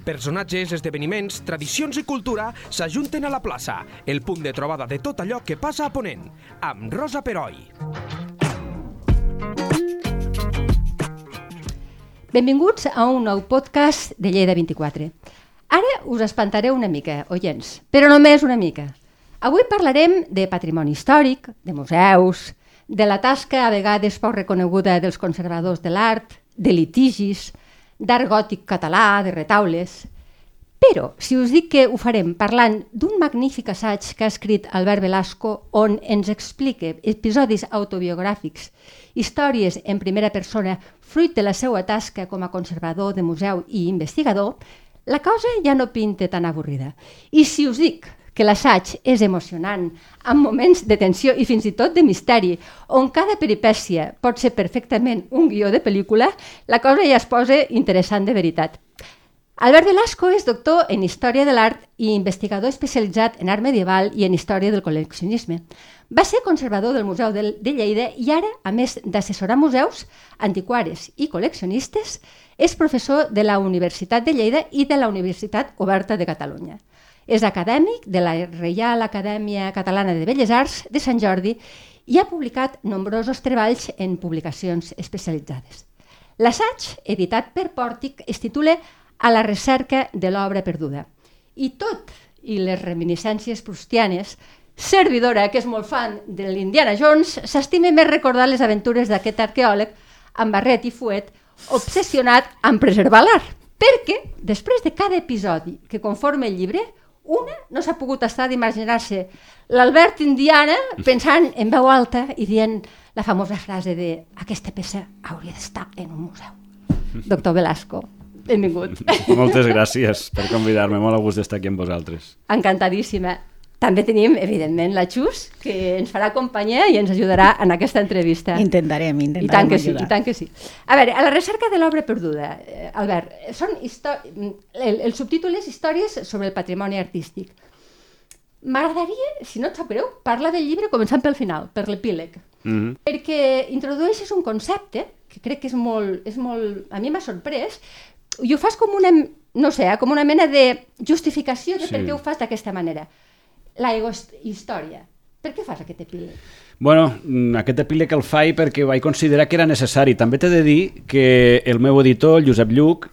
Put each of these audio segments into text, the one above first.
Personatges, esdeveniments, tradicions i cultura s'ajunten a la plaça, el punt de trobada de tot allò que passa a Ponent, amb Rosa Peroi. Benvinguts a un nou podcast de Lleida 24. Ara us espantaré una mica, oients, però només una mica. Avui parlarem de patrimoni històric, de museus, de la tasca a vegades poc reconeguda dels conservadors de l'art, de litigis, d'art gòtic català, de retaules. Però, si us dic que ho farem parlant d'un magnífic assaig que ha escrit Albert Velasco on ens explica episodis autobiogràfics, històries en primera persona, fruit de la seva tasca com a conservador de museu i investigador, la cosa ja no pinta tan avorrida. I si us dic que l'assaig és emocionant, amb moments de tensió i fins i tot de misteri, on cada peripècia pot ser perfectament un guió de pel·lícula, la cosa ja es posa interessant de veritat. Albert Velasco és doctor en Història de l'Art i investigador especialitzat en art medieval i en història del col·leccionisme. Va ser conservador del Museu de Lleida i ara, a més d'assessorar museus, antiquaris i col·leccionistes, és professor de la Universitat de Lleida i de la Universitat Oberta de Catalunya. És acadèmic de la Reial Acadèmia Catalana de Belles Arts de Sant Jordi i ha publicat nombrosos treballs en publicacions especialitzades. L'assaig, editat per Pòrtic, es titula A la recerca de l'obra perduda. I tot i les reminiscències proustianes, servidora, que és molt fan de l'Indiana Jones, s'estima més recordar les aventures d'aquest arqueòleg amb barret i fuet obsessionat en preservar l'art, perquè després de cada episodi que conforma el llibre, una no s'ha pogut estar d'imaginar-se l'Albert Indiana pensant en veu alta i dient la famosa frase de aquesta peça hauria d'estar en un museu. Doctor Velasco, benvingut. Moltes gràcies per convidar-me, molt a gust d'estar aquí amb vosaltres. Encantadíssima. També tenim, evidentment, la Xus, que ens farà companyia i ens ajudarà en aquesta entrevista. Intentarem I tant que sí, i tant que sí. A veure, a la recerca de l'obra perduda, Albert, el subtítol és Històries sobre el patrimoni artístic. M'agradaria, si no et sap greu, parlar del llibre començant pel final, per l'epíleg. Perquè introdueixes un concepte que crec que és molt... A mi m'ha sorprès, i ho fas com una, no sé, com una mena de justificació de per què ho fas d'aquesta manera. La egohistòria. Per què fas aquest epíleg? Bueno, aquest epíleg el faig perquè vaig considerar que era necessari. També t'he de dir que el meu editor, el Josep Lluc,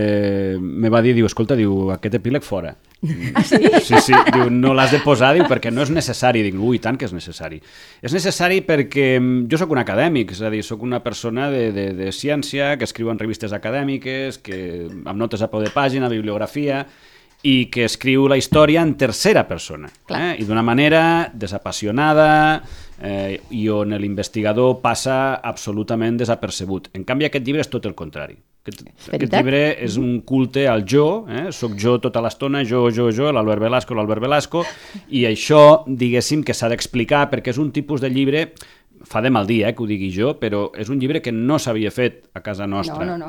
me va dir, escolta, aquest epíleg fora. Ah, sí? Sí, diu, no l'has de posar, perquè no és necessari. Dic, ui, tant que és necessari. És necessari perquè jo sóc un acadèmic, és a dir, sóc una persona de ciència, que escriu en revistes acadèmiques, amb notes a peu de pàgina, bibliografia, i que escriu la història en tercera persona, i d'una manera desapassionada i on l'investigador passa absolutament desapercebut. En canvi, aquest llibre és tot el contrari. Aquest llibre és un culte al jo, soc jo tota l'estona, jo, l'Albert Velasco, i això, diguéssim, que s'ha d'explicar perquè és un tipus de llibre... Fa de mal dir que ho digui jo, però és un llibre que no s'havia fet a casa nostra. No.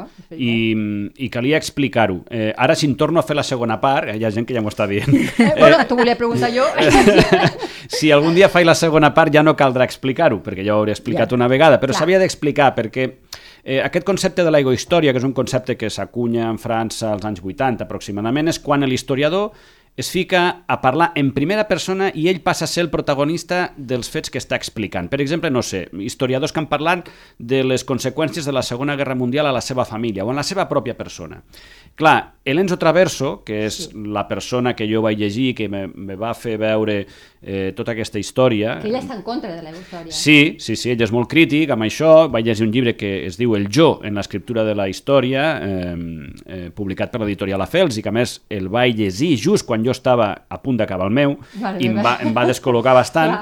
I calia explicar-ho. Ara, si en torno a fer la segona part, hi ha gent que ja m'ho està dient. Bueno, t'ho volia preguntar jo. Si algun dia faig la segona part ja no caldrà explicar-ho, perquè ja ho hauré explicat una vegada, però s'havia d'explicar perquè aquest concepte de l'egohistòria, que és un concepte que s'acunya en França als anys 80 aproximadament, és quan l'historiador es fica a parlar en primera persona i ell passa a ser el protagonista dels fets que està explicant. Per exemple, no sé, historiadors que han parlat de les conseqüències de la Segona Guerra Mundial a la seva família o en la seva pròpia persona. Clar, Elenzo Traverso, que és la persona que jo vaig llegir, que me va fer veure tota aquesta història... Que ell està en contra de la història. Sí, ell és molt crític amb això. Vaig llegir un llibre que es diu El jo en l'escriptura de la història, publicat per l'editorial Afels, i que a més el vaig llegir just quan jo estava a punt d'acabar el meu, i em va descol·locar bastant.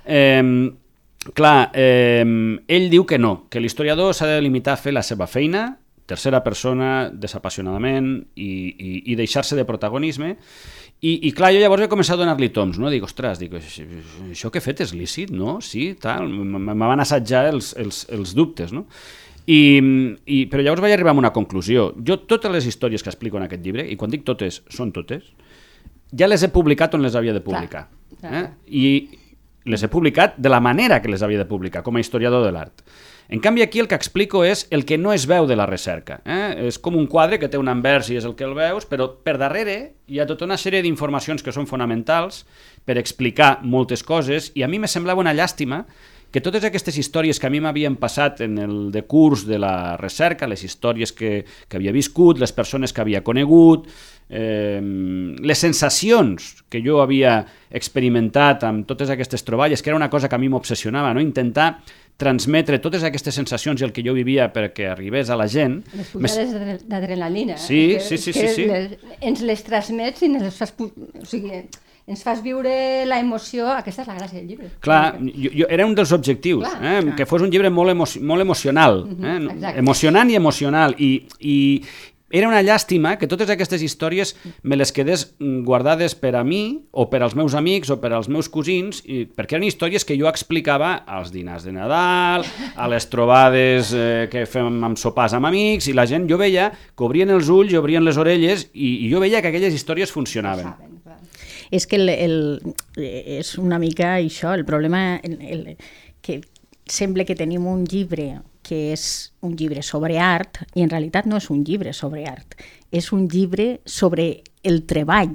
Ell diu que no, que l'historiador s'ha de limitar a fer la seva feina, tercera persona, desapassionadament, i deixar-se de protagonisme. I clar, jo llavors vaig començar a donar-li toms, no? Dic, ostres, això que he fet és lícit, no? Sí, tal, me van assajar els dubtes, no? Però llavors vaig arribar a una conclusió. Jo totes les històries que explico en aquest llibre, i quan dic totes, són totes, ja les he publicat on les havia de publicar. I les he publicat de la manera que les havia de publicar, com a historiador de l'art. En canvi, aquí el que explico és el que no es veu de la recerca. És com un quadre que té un anvers i és el que el veus, però per darrere hi ha tota una sèrie d'informacions que són fonamentals per explicar moltes coses, i a mi me semblava una llàstima que totes aquestes històries que a mi m'havien passat en el decurs de la recerca, les històries que havia viscut, les persones que havia conegut, les sensacions que jo havia experimentat amb totes aquestes troballes, que era una cosa que a mi m'obsessionava, no? Intentar transmetre totes aquestes sensacions i el que jo vivia perquè arribés a la gent. Les pujades d'adrenalina. Sí. Ens les transmets i ens fas... O sigui, ens fas viure la emoció, aquesta és la gràcia del llibre. Clar, era un dels objectius, que fos un llibre molt emocional, emocionant i emocional, i era una llàstima que totes aquestes històries me les quedés guardades per a mi, o per als meus amics, o per als meus cosins, perquè eren històries que jo explicava als dinars de Nadal, a les trobades que fem amb sopars amb amics, i la gent, jo veia que obrien els ulls i obrien les orelles, i jo veia que aquelles històries funcionaven. És que és una mica això, el problema que sembla que tenim un llibre que és un llibre sobre art, i en realitat no és un llibre sobre art, és un llibre sobre el treball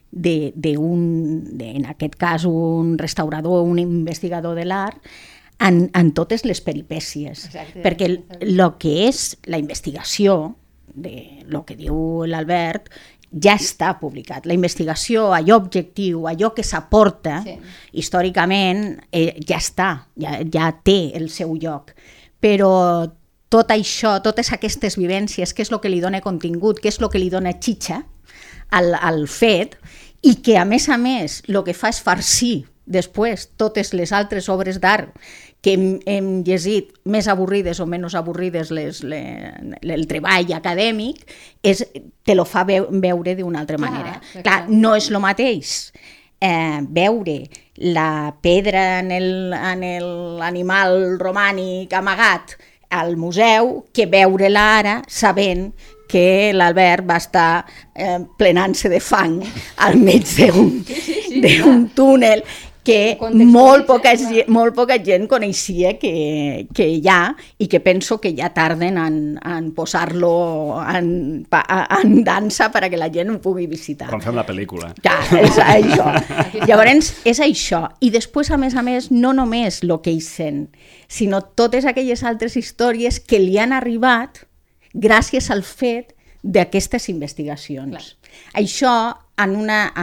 en aquest cas, un restaurador, un investigador de l'art, en totes les peripècies. Exacte. Perquè el que és la investigació, de lo que diu l'Albert, ja està publicat. La investigació, allò objectiu, allò que s'aporta històricament, ja està, ja té el seu lloc. Però tot això, totes aquestes vivències, què és el que li dona contingut, què és el que li dona xitxa al fet, i que a més, el que fa és farcir després totes les altres obres d'art que hem llegit, més avorrides o menys avorrides, el treball acadèmic, te lo fa veure d'una altra manera. Clar, no és el mateix veure la pedra en l'animal romànic amagat al museu que veure-la ara sabent que l'Albert va estar plenant-se de fang al mig d'un túnel que molt poca gent coneixia que hi ha, i que penso que ja tarden en posar-lo en dansa perquè la gent ho pugui visitar. Quan fem la pel·lícula. Clar, és això. Llavors, és això. I després, a més, no només el que ells sent, sinó totes aquelles altres històries que li han arribat gràcies al fet d'aquestes investigacions. Clar. Això, en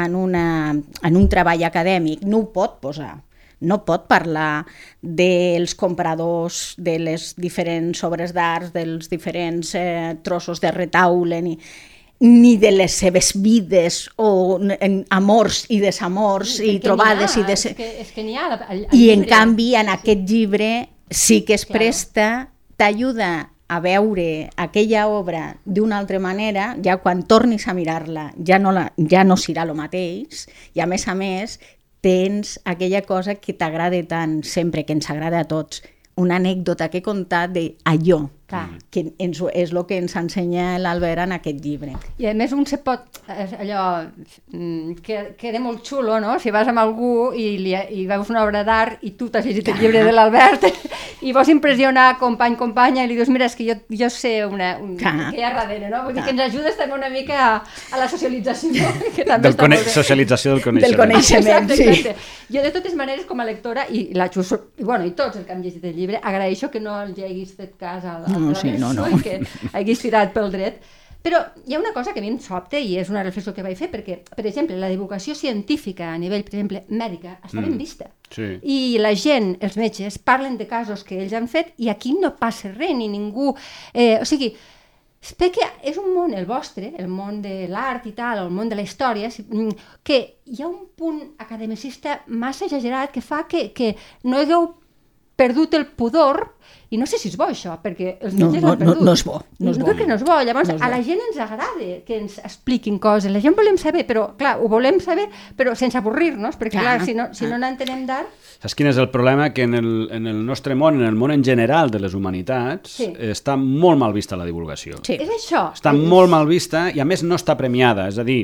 un treball acadèmic, no ho pot posar. No pot parlar dels compradors de les diferents obres d'art, dels diferents trossos de retaule, ni de les seves vides, o amors i desamors, i trobades. És que n'hi ha. I en canvi, en aquest llibre sí que es presta, t'ajuda a veure aquella obra d'una altra manera, ja quan tornis a mirar-la ja no serà el mateix, i a més tens aquella cosa que t'agrada tant, sempre, que ens agrada a tots, una anècdota que he contat d'allò, que és el que ens ensenya l'Albert en aquest llibre. I a més un se pot, allò, queda molt xulo, no? Si vas amb algú i veus una obra d'art i tu t'has llegit el llibre de l'Albert i vols impressionar companya i li dius, mira, és que jo sé què hi ha darrere, no? Vull dir que ens ajudes també una mica a la socialització. Socialització del coneixement. Del coneixement, sí. Jo, de totes maneres, com a lectora, i tots els que han llegit el llibre, agraeixo que no els haguis fet cas a no. Que hagués tirat pel dret. Però hi ha una cosa que a mi em sobta, i és una reflexió que vaig fer, perquè, per exemple, la divulgació científica a nivell, per exemple, mèdica, està ben vista. Sí. I la gent, els metges, parlen de casos que ells han fet i aquí no passa res, ni ningú... O sigui, perquè és un món, el vostre, el món de l'art i tal, el món de la història, que hi ha un punt academicista massa exagerat que fa que no hagueu perdut el pudor, i no sé si és bo això, perquè els metges l'han perdut. No és bo. No crec que no és bo. Llavors, a la gent ens agrada que ens expliquin coses. La gent volem saber, però, clar, ho volem saber, però sense avorrir-nos, perquè, clar, si no n'entenem d'art... Saps quin és el problema? Que en el nostre món, en el món en general de les humanitats, està molt mal vista la divulgació. Sí. És això. Està molt mal vista i, a més, no està premiada. És a dir,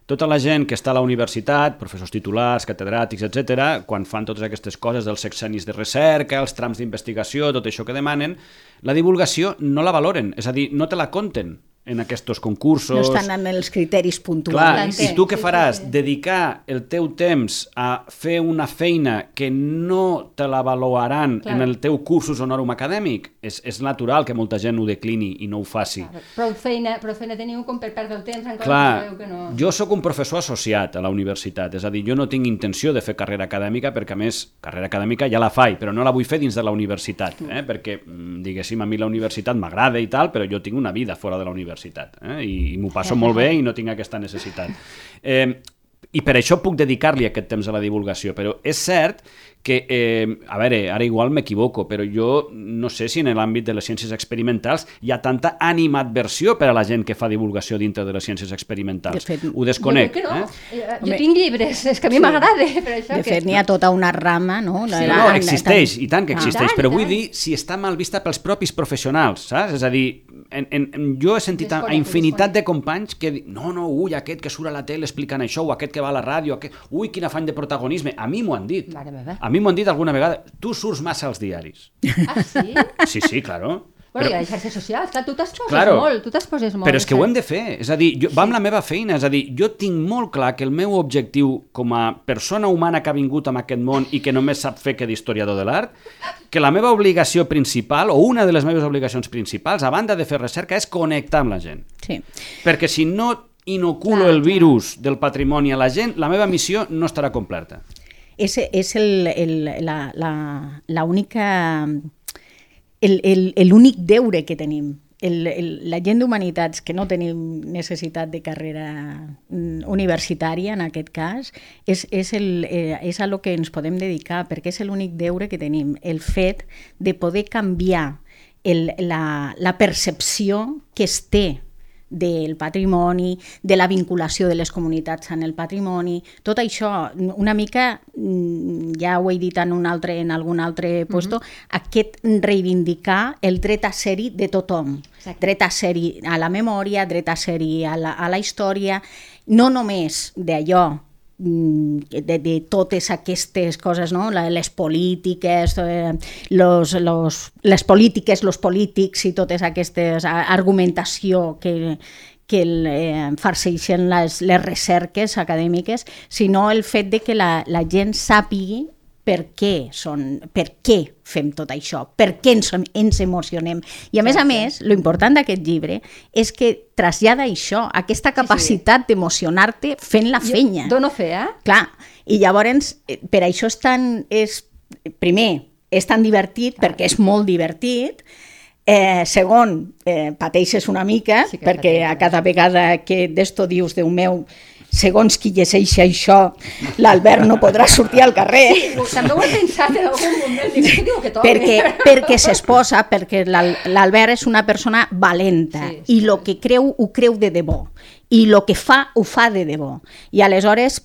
tota la gent que està a la universitat, professors titulars, catedràtics, etc., quan fan totes aquestes coses dels sexennis de recerca, els trams d'investigació, tot això que demanen, la divulgació no la valoren, és a dir, no te la compten en aquests concursos. No estan en els criteris puntuals. Clar, i tu què faràs? Dedicar el teu temps a fer una feina que no te la valoraran en el teu cursus honorum acadèmic? És natural que molta gent ho declini i no ho faci. Prou feina teniu com per perdre el temps en coses Clar, que no... jo sóc un professor associat a la universitat, és a dir, jo no tinc intenció de fer carrera acadèmica perquè, a més, carrera acadèmica ja la faig, però no la vull fer dins de la universitat, perquè, diguéssim, a mi la universitat m'agrada i tal, però jo tinc una vida fora de la universitat. I m'ho passo molt bé i no tinc aquesta necessitat. I per això puc dedicar-li aquest temps a la divulgació, però és cert que, a veure, ara igual m'equivoco, però jo no sé si en l'àmbit de les ciències experimentals hi ha tanta animadversió per a la gent que fa divulgació dintre de les ciències experimentals. Ho desconec. Jo crec que no. Jo tinc llibres, és que a mi m'agrada. De fet, n'hi ha tota una rama, no? No, existeix, i tant que existeix, però vull dir si està mal vista pels propis professionals, saps? És a dir, jo he sentit a infinitat de companys que diuen no, ui, aquest que surt a la tele explicant això, o aquest que va a la ràdio, ui, quin afany de protagonisme. A mi m'ho han dit. A mi m'ho han dit alguna vegada. Tu surts massa als diaris. Ah, sí? Sí, claro. Bueno, i a les xarxes socials, clar, tu t'exposes molt. Però és que ho hem de fer, és a dir, va amb la meva feina, és a dir, jo tinc molt clar que el meu objectiu com a persona humana que ha vingut en aquest món i que només sap fer que d'historiador de l'art, que la meva obligació principal, o una de les meves obligacions principals, a banda de fer recerca, és connectar amb la gent. Sí. Perquè si no inoculo el virus del patrimoni a la gent, la meva missió no estarà completa. És l'únic deure que tenim. La gent d'humanitats que no tenim necessitat de carrera universitària, en aquest cas, és a lo que ens podem dedicar, perquè és l'únic deure que tenim, el fet de poder canviar la percepció que es té del patrimoni, de la vinculació de les comunitats en el patrimoni, tot això, una mica, ja ho he dit en algun altre puesto, aquest reivindicar el dret a ser-hi de tothom, dret a ser-hi a la memòria, dret a ser-hi a la història, no només d'allò, de totes aquestes coses, no? Les polítiques, les polítiques, els polítics i totes aquestes argumentació que farceixen les recerques acadèmiques, sinó el fet de que la gent sàpigui per què fem tot això, per què ens emocionem. I a més, l'important d'aquest llibre és que trasllada això, aquesta capacitat d'emocionar-te fent la feina. Dono fe, Clar, i llavors, per això primer, és tan divertit, perquè és molt divertit, segon, pateixes una mica, perquè a cada vegada que d'esto dius, Déu meu, segons qui llegeix això, l'Albert no podrà sortir al carrer. Sí, també ho he pensat en algun moment. Perquè s'exposa, perquè l'Albert és una persona valenta i el que creu, ho creu de debò. I el que fa, ho fa de debò. I aleshores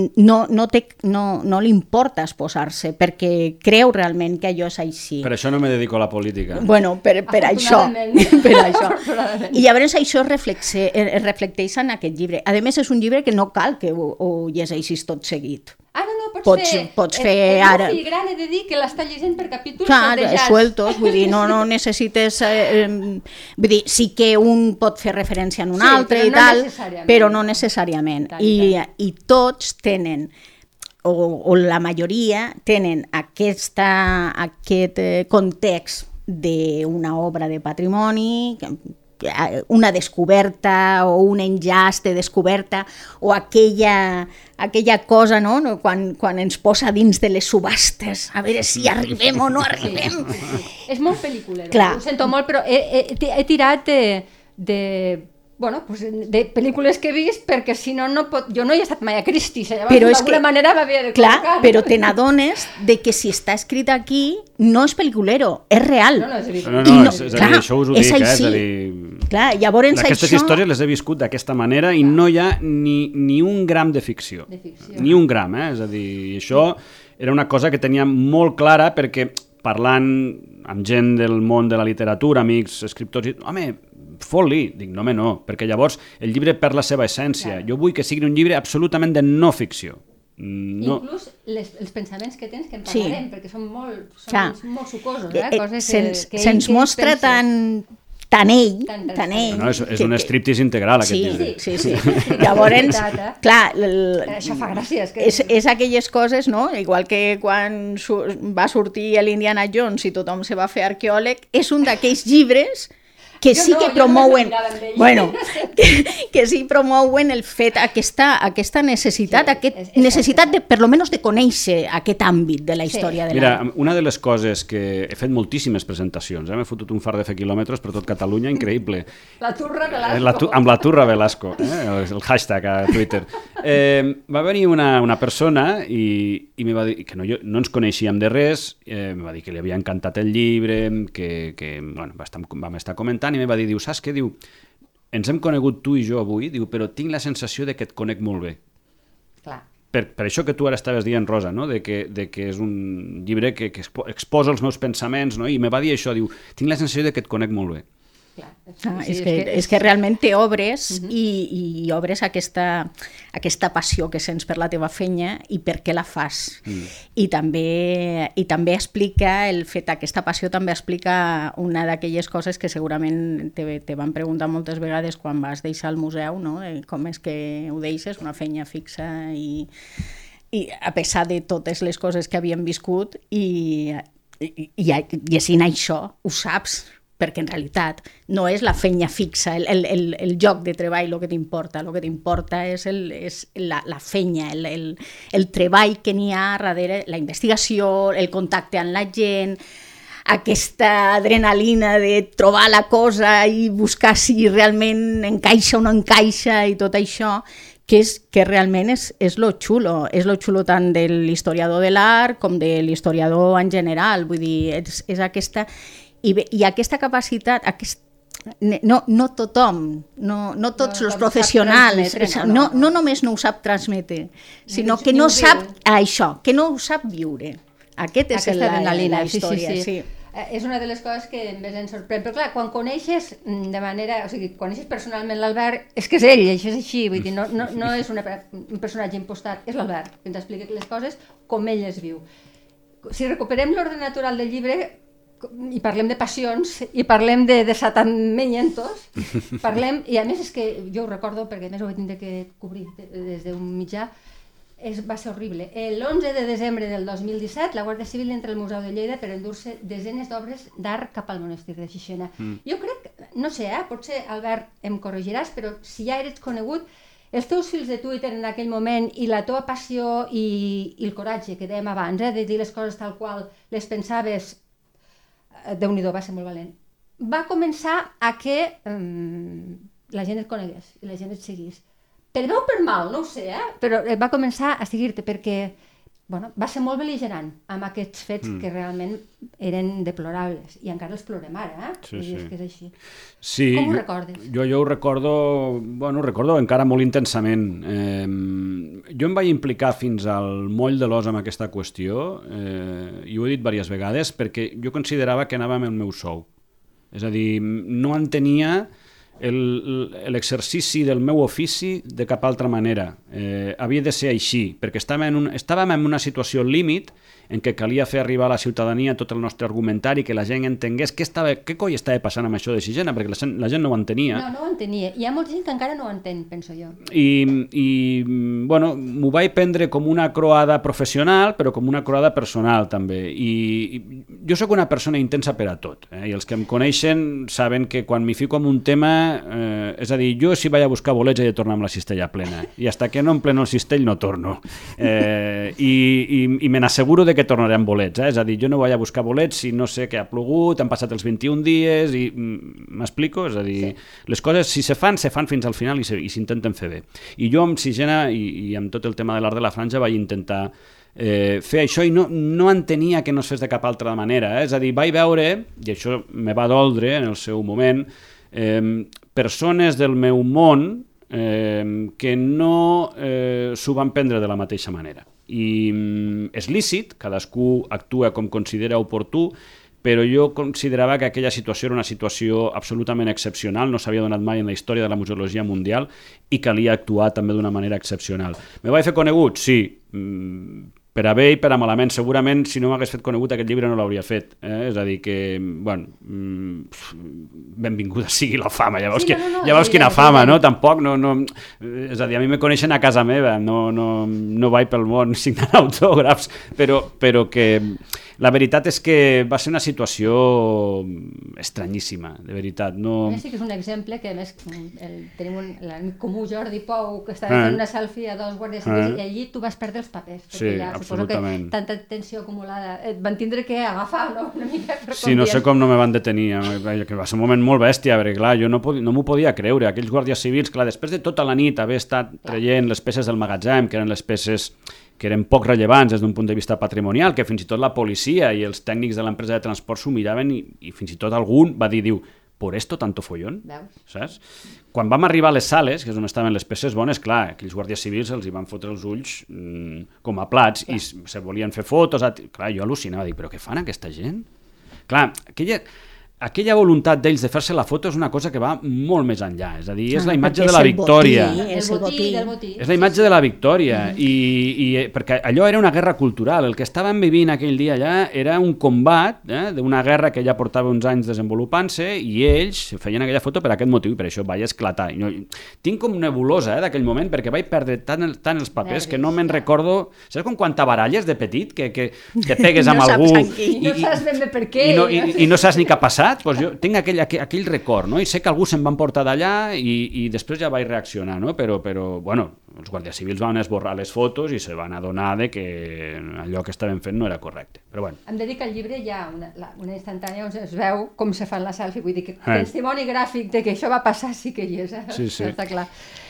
no li importa exposar-se, perquè creu realment que allò és així. Per això no me dedico a la política. Bueno, per això. I llavors això es reflecteix en aquest llibre. A més, és un llibre que no cal que ho llegeixis tot seguit. Pots fer ara. El meu fill gran he de dir que l'està llegint per capítols sondejats. Sueltos, vull dir, no necessites... vull dir, sí que un pot fer referència en un altre i tal, però no necessàriament. I tots tenen, o la majoria, tenen aquest context d'una obra de patrimoni, una descoberta o un enllaç de descoberta o aquella cosa, no? Quan ens posa dins de les subhastes a veure si arribem o no arribem. És molt pel·lícula, ho sento molt, però he tirat de pel·lícules que he vist, perquè si no, jo no he estat mai a Christie's, llavors d'alguna manera m'havia de col·locar. Clar, però te n'adones de que si està escrit aquí no és pel·liculero, és real. No, és a dir, això us ho dic, és a dir... Clar, llavors aquestes històries les he viscut d'aquesta manera i no hi ha ni un gram de ficció. Ni un gram, és a dir, això era una cosa que tenia molt clara perquè parlant amb gent del món de la literatura, amics, escriptors, home, fot-li. Dic, no, home, no, perquè llavors el llibre perd la seva essència. Jo vull que sigui un llibre absolutament de no ficció. No. Inclús els pensaments que tens, que en parlarem, perquè són molt sucosos, coses que se'ns mostra tan ell. No, és un striptease integral, aquest llibre. Sí. Llavors, clar... Això fa gràcia. És aquelles coses, no? Igual que quan va sortir l'Indiana Jones i tothom se va fer arqueòleg, és un d'aquells llibres que sí que promouen, que sí promouen el fet, aquesta necessitat, necessitat de, per lo menos, de conèixer aquest àmbit de la història de l'art. Mira, una de les coses que he fet moltíssimes presentacions, m'he fotut un far de fer quilòmetres per tot Catalunya, increïble. La Turra Velasco. Amb la Turra Velasco, el hashtag a Twitter. Va venir una persona i me va dir que no ens coneixíem de res, me va dir que li havia encantat el llibre, que vam estar comentant, i me va dir, saps què? Diu, ens hem conegut tu i jo avui, diu, però tinc la sensació de que et conec molt bé. Clar. Per això que tu ara estaves dient, Rosa, no? de que és un llibre que exposa els meus pensaments, no? I me va dir això, diu, tinc la sensació de que et conec molt bé. Clar. És que realment te obres i obres aquesta passió que sents per la teva feina i per què la fas. I també explica el fet, aquesta passió també explica una d'aquelles coses que segurament te van preguntar moltes vegades quan vas deixar el museu, no? Com és que ho deixes, una feina fixa i a pesar de totes les coses que havíem viscut i així això ho saps, perquè en realitat no és la feina fixa, el lloc de treball el que t'importa és la feina, el treball que n'hi ha darrere, la investigació, el contacte amb la gent, aquesta adrenalina de trobar la cosa i buscar si realment encaixa o no encaixa i tot això, que realment és lo xulo tant de l'historiador de l'art com de l'historiador en general, vull dir, és aquesta... I aquesta capacitat, no tothom, no tots els professionals, no només no ho sap transmetre, sinó que no sap això, que no ho sap viure. Aquesta és la història. Sí. És una de les coses que més ens sorprèn. Però clar, quan coneixes de manera... O sigui, coneixes personalment l'Albert, és que és ell, això és així. Vull dir, no és un personatge impostat, és l'Albert, que ens explica les coses com ell les viu. Si recuperem l'ordre natural del llibre, i parlem de passions, i parlem de desatamientos, i a més és que jo ho recordo, perquè a més ho vaig tindre que cobrir des d'un mitjà, va ser horrible. L'11 de desembre del 2017, la Guàrdia Civil entra al Museu de Lleida per endur-se desenes d'obres d'art cap al monestir de Xixena. Jo crec, no sé, potser, Albert, em corregiràs, però si ja eres conegut, els teus fils de Twitter en aquell moment i la teva passió i el coratge que dèiem abans, de dir les coses tal qual les pensaves, Déu-n'hi-do, va ser molt valent. Va començar a que la gent et conegués i la gent et seguís. Per bé o per mal, no ho sé, però va començar a seguir-te perquè va ser molt bel·ligerant amb aquests fets que realment eren deplorables i encara els plorem ara, Sí. És que és així. Sí, com ho recordes? Jo ho recordo encara molt intensament. Jo em vaig implicar fins al moll de l'os amb aquesta qüestió i ho he dit diverses vegades perquè jo considerava que anava amb el meu sou. És a dir, no entenia l'exercici del meu ofici de cap altra manera. Havia de ser així, perquè estàvem en una situació límit en què calia fer arribar a la ciutadania tot el nostre argumentari, que la gent entengués què coi estava passant amb això de Xixena, perquè la gent no ho entenia. No ho entenia. Hi ha molta gent que encara no ho entén, penso jo. I m'ho vaig prendre com una croada professional, però com una croada personal, també. I jo sóc una persona intensa per a tot, i els que em coneixen saben que quan m'hi fico en un tema, és a dir, jo si vaig a buscar bolets he de tornar amb la cistella plena, i hasta que no em pleno el cistell no torno. I me n'asseguro de que tornaré amb bolets, és a dir, jo no vaig a buscar bolets si no sé que ha plogut, han passat els 21 dies i m'explico? És a dir, les coses si se fan fins al final i s'intenten fer bé. I jo amb Xixena i amb tot el tema de l'art de la franja vaig intentar fer això i no entenia que no es fes de cap altra manera, és a dir, vaig veure, i això me va doldre en el seu moment, persones del meu món que no s'ho van prendre de la mateixa manera. I és lícit, cadascú actua com considera oportú, però jo considerava que aquella situació era una situació absolutament excepcional, no s'havia donat mai en la història de la museologia mundial i calia actuar també d'una manera excepcional. Me vaig fer conegut? Sí, per a bé i per a malament. Segurament, si no m'hagués fet conegut, aquest llibre no l'hauria fet. És a dir, que, bueno, benvinguda sigui la fama. Ja veus quina fama, no? Tampoc, és a dir, a mi me coneixen a casa meva, no vaig pel món signant autògrafs, però que la veritat és que va ser una situació estranyíssima, de veritat. A més, sí que és un exemple que, a més, tenim l'amic comú Jordi Pou, que estava fent una selfie a 2 guàrdies civils i allí tu vas perdre els papers. Sí, absolutament. Que tanta tensió acumulada et van tindre que agafar, no? Una mica per sí, no sé com no me van detenir, que va ser un moment molt bèstia, perquè clar, jo no m'ho podia creure. Aquells guàrdies civils, clar, després de tota la nit haver estat traient les peces del magatzem, que eren les peces que eren poc rellevants des d'un punt de vista patrimonial, que fins i tot la policia i els tècnics de l'empresa de transport s'ho miraven i fins i tot algun va dir, ¿por esto tanto follón? Saps? Quan vam arribar a les sales, que és on estaven les peces bones, clar, aquells guàrdies civils els hi van fotre els ulls com a plats i se volien fer fotos. Clar, jo al·lucinava, dic, però què fan aquesta gent? Clar, aquella voluntat d'ells de fer-se la foto és una cosa que va molt més enllà, és a dir, és la imatge de la victòria. És el botí. És la imatge de la victòria, i perquè allò era una guerra cultural, el que estàvem vivint aquell dia allà era un combat d'una guerra que ja portava uns anys desenvolupant-se i ells feien aquella foto per aquest motiu i per això vaig esclatar. Tinc com nebulosa d'aquell moment perquè vaig perdre tant els papers que no me'n recordo. Saps com quan t'abaralles de petit, que te pegues amb algú i no saps ben bé per què i no saps ni què ha passat? Doncs jo tinc aquell record, no? I sé que algú se'n van portar d'allà i després ja vaig reaccionar, no? Però bueno, els guàrdies civils van esborrar les fotos i se van adonar de que allò que estaven fent no era correcte. Però bueno. Em dedica al llibre hi ha una instantània on es veu com se fan la selfie, vull dir que testimoni gràfic de que això va passar sí que hi és, sí. Està clar.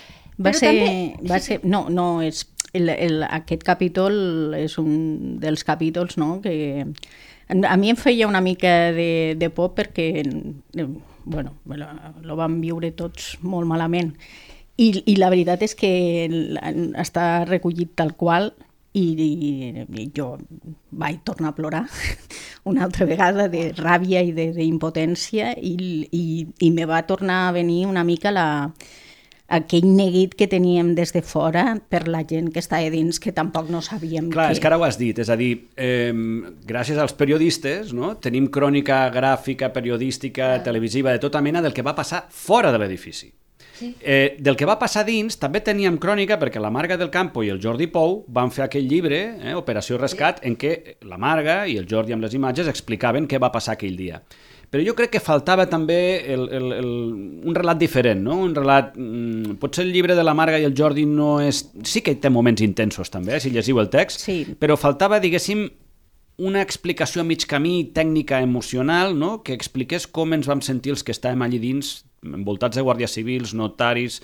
Aquest capítol és un dels capítols, no?, que a mi em feia una mica de por perquè, bueno, lo vam viure tots molt malament. I la veritat és que està recollit tal qual i jo vaig tornar a plorar una altra vegada de ràbia i d'impotència i me va tornar a venir una mica aquell neguit que teníem des de fora per la gent que estava dins, que tampoc no sabíem Clar, és que ara ho has dit, és a dir, gràcies als periodistes, no? Tenim crònica gràfica, periodística, televisiva, de tota mena del que va passar fora de l'edifici. Sí. Del que va passar dins també teníem crònica perquè la Marga del Campo i el Jordi Pou van fer aquell llibre, Operació Rescat, en què la Marga i el Jordi amb les imatges explicaven què va passar aquell dia. Però jo crec que faltava també un relat diferent, no? Un relat... Potser el llibre de la Marga i el Jordi no és... Sí que té moments intensos també, si llegiu el text, sí. Però faltava, diguéssim, una explicació a mig camí tècnica emocional, no? Que expliqués com ens vam sentir els que estàvem allí dins, envoltats de guàrdies civils, notaris,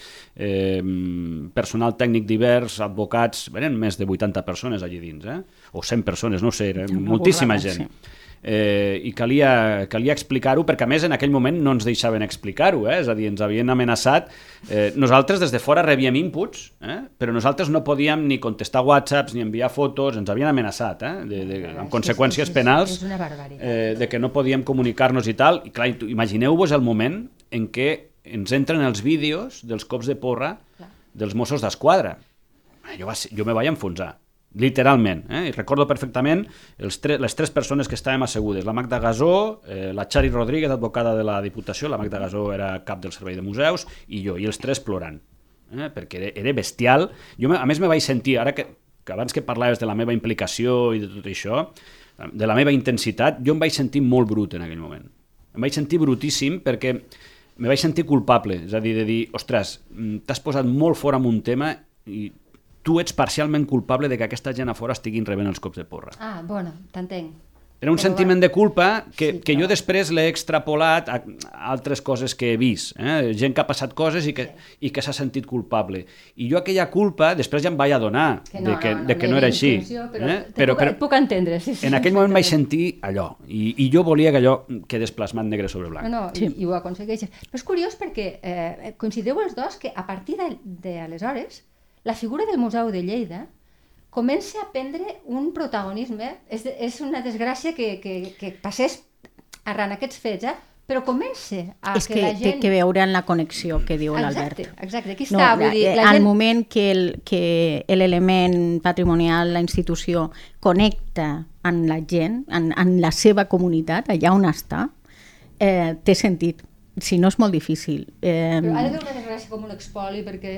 personal tècnic divers, advocats... Eren més de 80 persones allí dins, o 100 persones, no sé, moltíssima gent. Sí. I calia explicar-ho, perquè a més en aquell moment no ens deixaven explicar-ho, és a dir, ens havien amenaçat. Nosaltres des de fora rebíem inputs, però nosaltres no podíem ni contestar whatsapps ni enviar fotos, ens havien amenaçat, amb conseqüències penals, de que no podíem comunicar-nos i tal. I clar, imagineu-vos el moment en què ens entren els vídeos dels cops de porra dels Mossos d'Esquadra. Jo me vaig enfonsar. Literalment, I recordo perfectament les 3 persones que estàvem assegudes, la Magda Gasó, la Chari Rodríguez, advocada de la Diputació, la Magda Gasó era cap del Servei de Museus, i jo, i els 3 plorant, perquè era bestial. Jo, a més, me vaig sentir, ara que abans que parlaves de la meva implicació i de tot això, de la meva intensitat, jo em vaig sentir molt brut en aquell moment. Em vaig sentir brutíssim perquè me vaig sentir culpable, és a dir, de dir, ostres, t'has posat molt fora amb un tema i tu ets parcialment culpable de que aquesta gent a fora estiguin rebent els cops de porra. Ah, bueno, t'entenc. Era un sentiment de culpa que jo després l'he extrapolat a altres coses que he vist. Gent que ha passat coses i que s'ha sentit culpable. I jo aquella culpa després ja em vaig adonar de que no era així. Però puc entendre. En aquell moment vaig sentir allò. I jo volia que allò quedés plasmat negre sobre blanc. I ho aconsegueixes. Però és curiós perquè coincideu els dos que a partir d'aleshores la figura del Museu de Lleida comença a prendre un protagonisme. És una desgràcia que passés arran aquests fets, però comença a És que la gent... té que veure en la connexió que diu l'Albert. Exacte, aquí està. Vull dir, al moment que l'element patrimonial, la institució, connecta amb la gent, en la seva comunitat, allà on està, té sentit. Si no, és molt difícil. Però ha de fer una desgràcia com un expoli, perquè...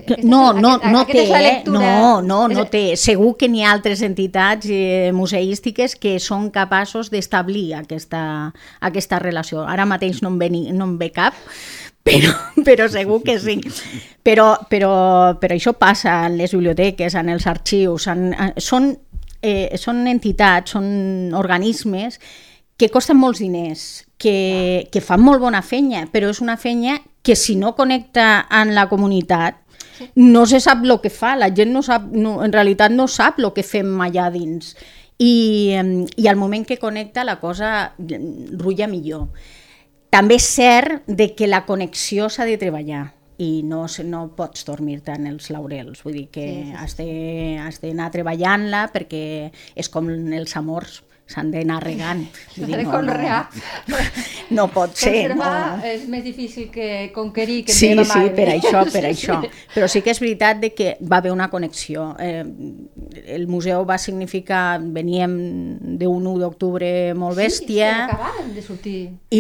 No té. Segur que n'hi ha altres entitats museístiques que són capaços d'establir aquesta relació. Ara mateix no em ve cap, però segur que sí. Però això passa en les biblioteques, en els arxius, són entitats, són organismes que costen molts diners, que fan molt bona feina, però és una feina que si no connecta amb la comunitat no se sap el que fa, la gent en realitat no sap el que fem allà dins. I al moment que connecta la cosa rutlla millor. També és cert que la connexió s'ha de treballar i no pots dormir-te en els laurels, vull dir que has d'anar treballant-la perquè és com els amors, s'han d'anar regant. S'ha de conrear. No pot ser. Conservar és més difícil que conquerir. Sí, per això. Però sí que és veritat que va haver una connexió. El museu va significar, veníem d'un 1 d'octubre molt bèstia. Sí, acabàvem de sortir.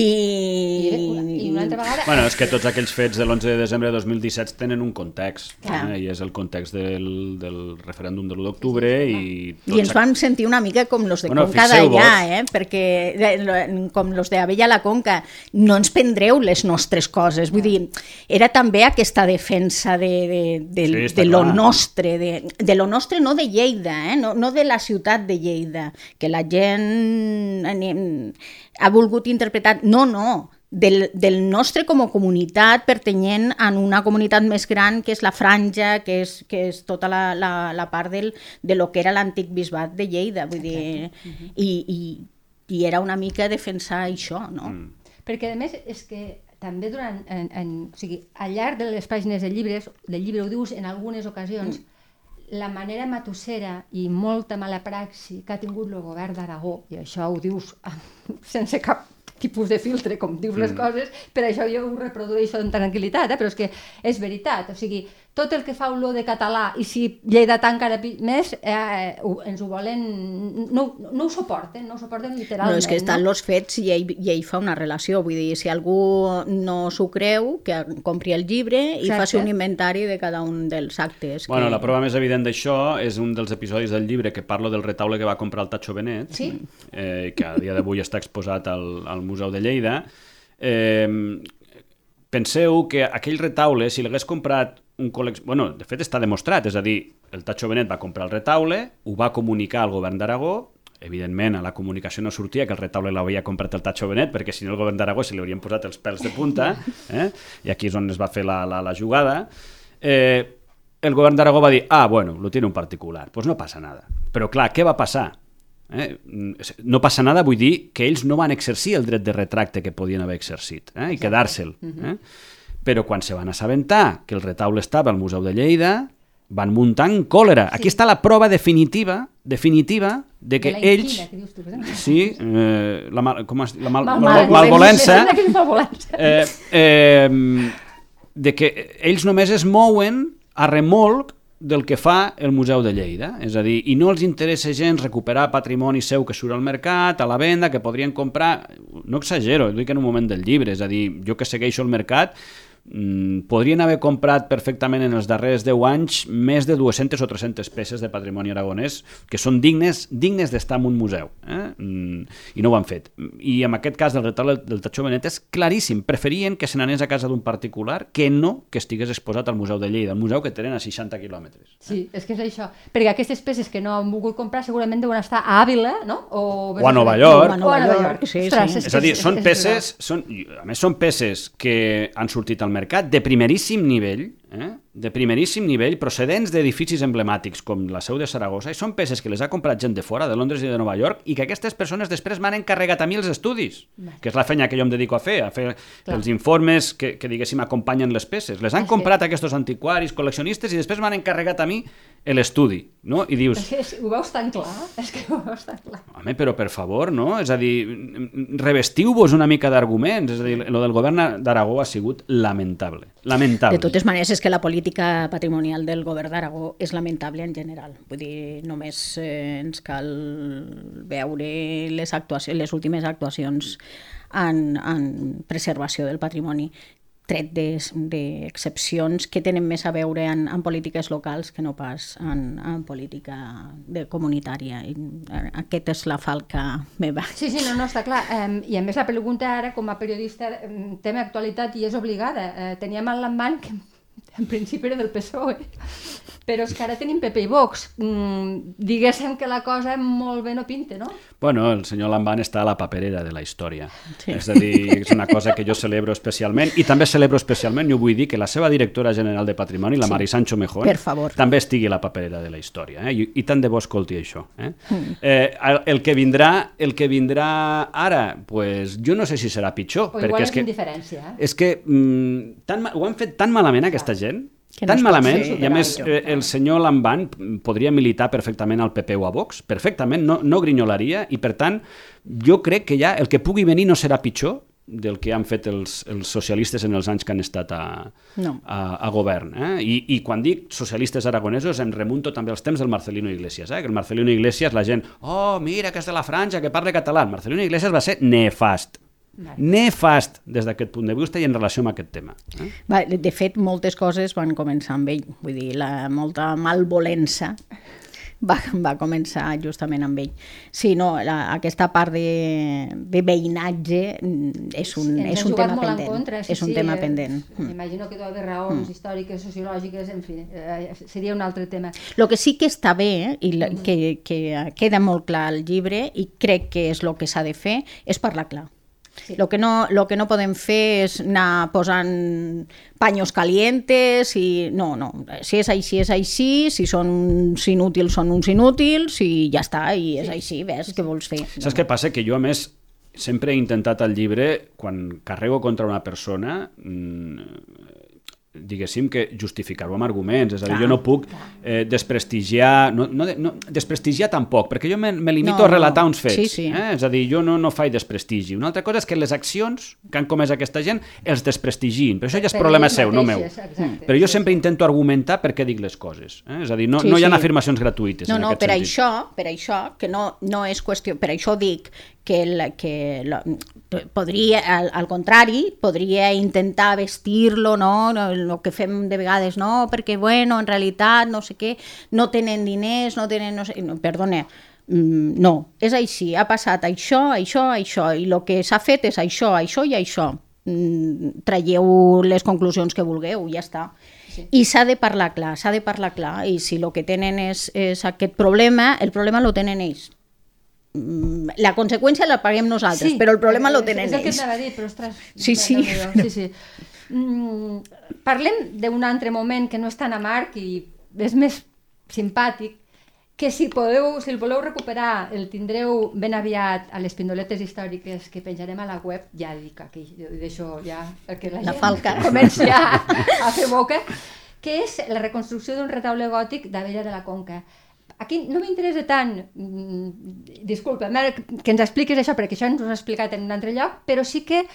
I una altra vegada... Bueno, és que tots aquells fets de l'11 de desembre de 2017 tenen un context, i és el context del referèndum de l'1 d'octubre. I ens vam sentir una mica com los de Conca d'allà, perquè com los d'Abella la Conca, no ens prendreu les nostres coses, vull dir, era també aquesta defensa de lo nostre, de lo nostre, no de Lleida, no de la ciutat de Lleida, que la gent ha volgut interpretar, no, del nostre com a comunitat, pertanyent a una comunitat més gran que és la Franja, que és tota la part de lo que era l'antic bisbat de Lleida, vull dir, i era una mica defensar això, no? Perquè a més és que també al llarg de les pàgines del llibre ho dius en algunes ocasions, la manera matussera i molta mala praxi que ha tingut el govern d'Aragó, i això ho dius sense cap tipus de filtre, com dius les coses, per això jo ho reprodueixo amb tranquil·litat, però és que és veritat, o sigui, tot el que fa olor de català, i si lleidatà encara més, ens ho volen... No ho suporten literalment. No, és que estan els fets i ell fa una relació, vull dir, si algú no s'ho creu, que compri el llibre i faci un inventari de cada un dels actes. Bueno, la prova més evident d'això és un dels episodis del llibre que parlo del retaule que va comprar el Tacho Benet, que a dia d'avui està exposat al Museu de Lleida. Penseu que aquell retaule, si l'hagués comprat un bueno, de fet està demostrat, és a dir, el Tacho Benet va comprar el retaule, ho va comunicar al govern d'Aragó, evidentment a la comunicació no sortia que el retaule l'havia comprat el Tacho Benet, perquè si no el govern d'Aragó se li haurien posat els pèls de punta, i aquí és on es va fer la jugada. El govern d'Aragó va dir, bueno, lo tiene un particular, pues no passa nada. Però clar, què va passar? No passa nada, vull dir que ells no van exercir el dret de retracte que podien haver exercit i quedar-se'l. Però quan se van assabentar que el retaule estava al Museu de Lleida, van muntar en còlera. Aquí està la prova definitiva de que ells... Sí, la malvolença. De que ells només es mouen a remolc del que fa el Museu de Lleida, és a dir, i no els interessa gens recuperar patrimoni seu que surt al mercat, a la venda, que podrien comprar, no exagero, dic en un moment del llibre, és a dir, jo que segueixo el mercat, podrien haver comprat perfectament en els darrers 10 anys més de 200 o 300 peces de patrimoni aragonès que són dignes d'estar en un museu, i no ho han fet. I en aquest cas del retaule del Tacho Benet és claríssim, preferien que se n'anés a casa d'un particular que no que estigués exposat al Museu de Lleida, el museu que tenen a 60 quilòmetres. Sí, és que és això, perquè aquestes peces que no han volgut comprar segurament deuen estar a Àvila, no? O a Nova York. Sí. És a dir, són peces, a més són peces que han sortit al mercat de primeríssim nivell, de primeríssim nivell, procedents d'edificis emblemàtics com la seu de Saragossa, i són peces que les ha comprat gent de fora, de Londres i de Nova York, i que aquestes persones després m'han encarregat a mi els estudis, que és la feina que jo em dedico a fer els informes que diguéssim, acompanyen les peces. Les han comprat aquests antiquaris, col·leccionistes, i després m'han encarregat a mi l'estudi, no? I dius... És que ho veus tan clar, Home, però per favor, no? És a dir, revestiu-vos una mica d'arguments, és a dir, lo del govern d'Aragó ha sigut lamentable. De totes maneres, és que la política patrimonial del govern d'Aragó és lamentable en general. Vull dir, només ens cal veure les últimes actuacions en preservació del patrimoni, tret d'excepcions que tenen més a veure en polítiques locals que no pas en política comunitària. Aquesta és la falca meva. Sí, no, està clar. I a més la pregunta ara, com a periodista, tema actualitat i és obligada. Teníem el Lamban, que en principi era del PSOE, però és que ara tenim PP i Vox. Diguéssim que la cosa molt bé no pinta, no? Bueno, el senyor Lamban està a la paperera de la història. Sí. És a dir, és una cosa que jo celebro especialment, i també celebro especialment, jo vull dir, que la seva directora general de Patrimoni, la Mari Sancho Mejón, també estigui a la paperera de la història. I tant de bo escolti això. El que vindrà ara, pues, jo no sé si serà pitjor. O igual és indiferència. És que ho han fet tan malament aquesta gent, tan malament, i a més el senyor Lamban podria militar perfectament al PP o a Vox, perfectament, no grinyolaria, i per tant jo crec que ja el que pugui venir no serà pitjor del que han fet els socialistes en els anys que han estat a govern. I quan dic socialistes aragonesos em remunto també als temps del Marcelino Iglesias, que el Marcelino Iglesias la gent, mira que és de la Franja, que parla català. El Marcelino Iglesias va ser nefast des d'aquest punt de vista i en relació amb aquest tema. De fet, moltes coses van començar amb ell, vull dir, molta malvolença va començar justament amb ell. Sí, no, aquesta part de veïnatge és un tema pendent. És un tema pendent. M'imagino que deu haver raons històriques, sociològiques, en fi, seria un altre tema. El que sí que està bé, i que queda molt clar al llibre, i crec que és el que s'ha de fer, és parlar clar. Sí. Lo que no podem fer és anar posant paños calientes i no, si és així, si són uns inútils són uns inútils i ja està, i és així, ves, què vols fer? Saps què passa? Que jo, a més, sempre he intentat al llibre, quan carrego contra una persona, diguéssim que justificar-ho amb arguments, és a dir, jo no puc desprestigiar, desprestigiar tampoc, perquè jo me limito a relatar uns fets, és a dir, jo no faig desprestigi. Una altra cosa és que les accions que han comès aquesta gent els desprestigin, però això ja és problema seu, no meu. Però jo sempre intento argumentar per què dic les coses, és a dir, no hi ha afirmacions gratuïtes en aquest sentit. Per això, que no és qüestió, per això dic que podria, al contrari, podria intentar vestir-lo, no? El que fem de vegades, no, perquè, bueno, en realitat, no sé què, no tenen diners, no tenen, no sé, perdona, no, és així, ha passat això, i el que s'ha fet és això i això. Traieu les conclusions que vulgueu, ja està. Sí. I s'ha de parlar clar, i si el que tenen és aquest problema, el problema el tenen ells. La conseqüència la paguem nosaltres, però el problema lo tenen ells. És el que t'anava a dir, però ostres... Sí. Parlem d'un altre moment que no és tan amarg i és més simpàtic, que si el voleu recuperar el tindreu ben aviat a les pindoletes històriques que penjarem a la web, ja dic aquí, deixo ja que la gent comenci a fer boca, que és la reconstrucció d'un retaule gòtic d'Abella de la Conca. Aquí no m'interessa tant, disculpa, que ens expliquis això, perquè això ens ho has explicat en un altre lloc, però sí que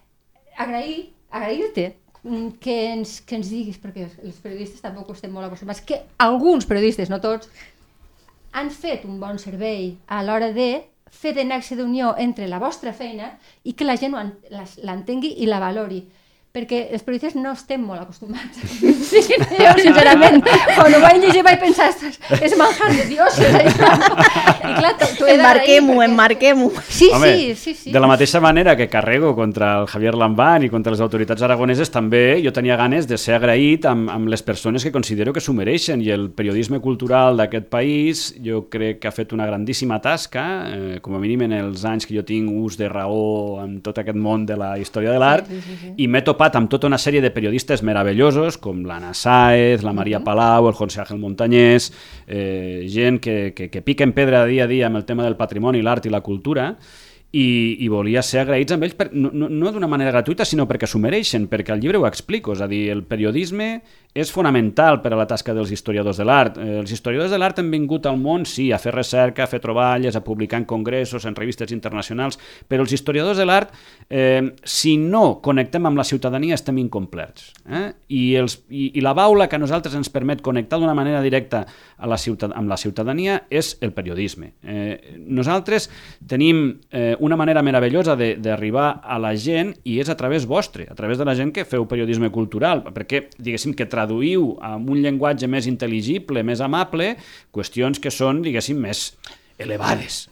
agrair-te que ens diguis, perquè els periodistes tampoc estem molt acostumats, que alguns periodistes, no tots, han fet un bon servei a l'hora de fer de nexe d'unió entre la vostra feina i que la gent l'entengui i la valori. Perquè els periodistes no estem molt acostumats. Sí, jo, sincerament, quan ho vaig llegir vaig pensar, és manjar de dioses, això. I clar, t'ho he d'agrair. Emmarquem-ho. Sí. De la mateixa manera que carrego contra el Javier Lamban i contra les autoritats aragoneses, també jo tenia ganes de ser agraït amb les persones que considero que s'ho mereixen, i el periodisme cultural d'aquest país jo crec que ha fet una grandíssima tasca, com a mínim en els anys que jo tinc ús de raó en tot aquest món de la història de l'art, i m'he topat topat amb tota una sèrie de periodistes meravellosos, com l'Anna Sáez, la Maria Palau, el José Ángel Montañés, gent que piquen pedra dia a dia amb el tema del patrimoni, l'art i la cultura, i volia ser agraïts amb ells, no d'una manera gratuïta, sinó perquè s'ho mereixen, perquè al llibre ho explico, és a dir, el periodisme és fonamental per a la tasca dels historiadors de l'art. Els historiadors de l'art han vingut al món, sí, a fer recerca, a fer troballes, a publicar en congressos, en revistes internacionals, però els historiadors de l'art, si no connectem amb la ciutadania, estem incomplets. I la baula que a nosaltres ens permet connectar d'una manera directa amb la ciutadania és el periodisme. Nosaltres tenim una manera meravellosa d'arribar a la gent i és a través vostre, a través de la gent que feu periodisme cultural, perquè, diguéssim, que traduïu amb un llenguatge més intel·ligible, més amable, qüestions que són, diguéssim, més elevades.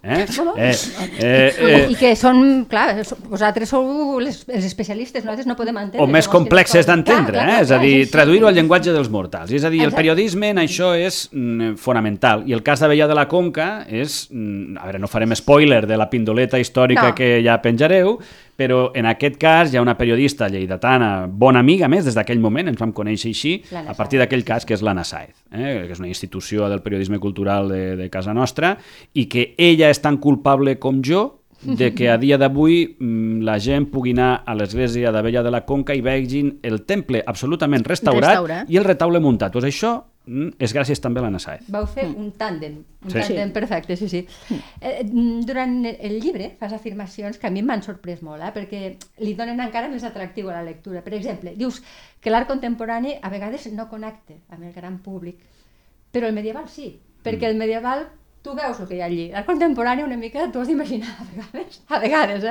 I que són, clar, vosaltres sou els especialistes, nosaltres no podem entendre. O més complexes d'entendre, és a dir, traduir-ho al llenguatge dels mortals. És a dir, el periodisme en això és fonamental. I el cas d'Abella de la Conca és, a veure, no farem spoiler de la pindoleta històrica que ja penjareu, però en aquest cas hi ha una periodista lleidatana, bona amiga, més, des d'aquell moment, ens vam conèixer així, a partir d'aquell cas, que és l'Anna Sáez, que és una institució del periodisme cultural de casa nostra, i que ella és tan culpable com jo de que a dia d'avui la gent pugui anar a l'església d'Abella de la Conca i vegin el temple absolutament restaurat i el retaule muntat. Doncs això és gràcies també a l'Anna Sáez. Vau fer un tàndem perfecte, sí. Durant el llibre fas afirmacions que a mi m'han sorprès molt, perquè li donen encara més atractiu a la lectura. Per exemple, dius que l'art contemporani a vegades no connecta amb el gran públic, però el medieval sí, perquè el medieval tu veus el que hi ha allí. L'art contemporani una mica t'ho has d'imaginar a vegades.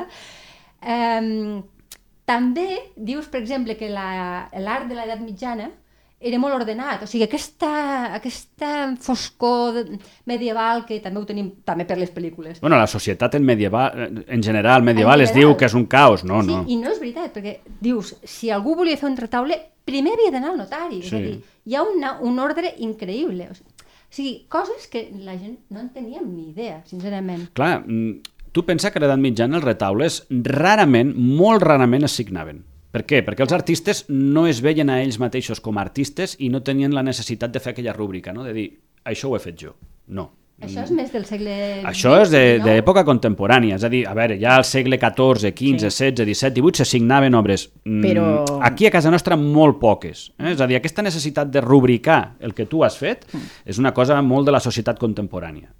També dius, per exemple, que l'art de l'edat mitjana era molt ordenat, o sigui, aquesta foscor medieval que també ho tenim també per les pel·lícules. Bueno, la societat en general medieval es diu que és un caos, no? Sí, i no és veritat, perquè dius, si algú volia fer un retaule, primer havia d'anar al notari, és a dir, hi ha un ordre increïble, o sigui, coses que la gent no en teníem ni idea, sincerament. Clar, tu pensa que a l'edat mitjana els retaules rarament, molt rarament es signaven. Per què? Perquè els artistes no es veien a ells mateixos com a artistes i no tenien la necessitat de fer aquella rúbrica, no? De dir, això ho he fet jo. No. Això és més del segle XX, Això és d'època contemporània, és a dir, a veure, ja al segle XIV, XV, XVI, XVII, XVIII se signaven obres. Però aquí a casa nostra molt poques. És a dir, aquesta necessitat de rubricar el que tu has fet és una cosa molt de la societat contemporània.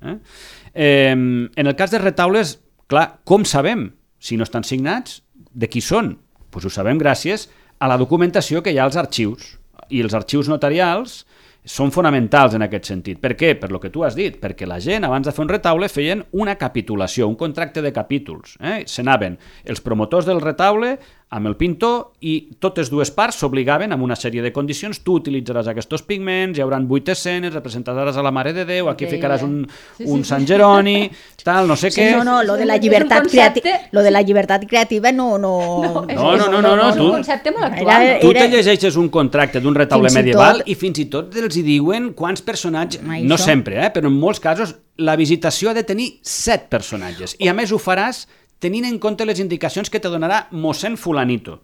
En el cas de retaules, clar, com sabem si no estan signats, de qui són? Doncs ho sabem gràcies a la documentació que hi ha als arxius. I els arxius notarials són fonamentals en aquest sentit. Per què? Per lo que tu has dit. Perquè la gent, abans de fer un retaule, feien una capitulació, un contracte de capítols. S'anaven els promotors del retaule amb el pintor i totes dues parts s'obligaven amb una sèrie de condicions. Tu utilitzaràs aquests pigments, hi haurà 8 escenes, representaràs a la Mare de Déu, aquí ficaràs un Sant Jeroni, tal, no sé què. No, lo de la llibertat creativa no. No, és un concepte molt actual. Tu te llegeixes un contracte d'un retaule medieval i fins i tot els hi diuen quants personatges, no sempre, però en molts casos la visitació ha de tenir 7 personatges i a més ho faràs tenint en compte les indicacions que te donarà mossèn fulanito.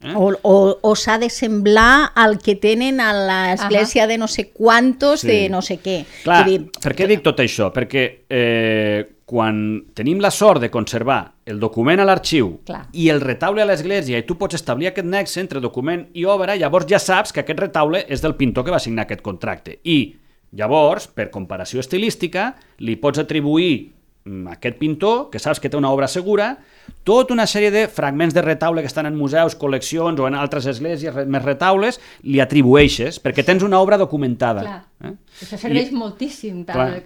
O s'ha de semblar al que tenen a l'església de no sé quantos, de no sé què. Clar, per què dic tot això? Perquè quan tenim la sort de conservar el document a l'arxiu i el retaule a l'església i tu pots establir aquest nexe entre document i obra, llavors ja saps que aquest retaule és del pintor que va signar aquest contracte. I llavors, per comparació estilística, li pots atribuir a aquest pintor, que saps que té una obra segura, tota una sèrie de fragments de retaule que estan en museus, col·leccions o en altres esglésies, més retaules, li atribueixes, perquè tens una obra documentada. Això serveix moltíssim.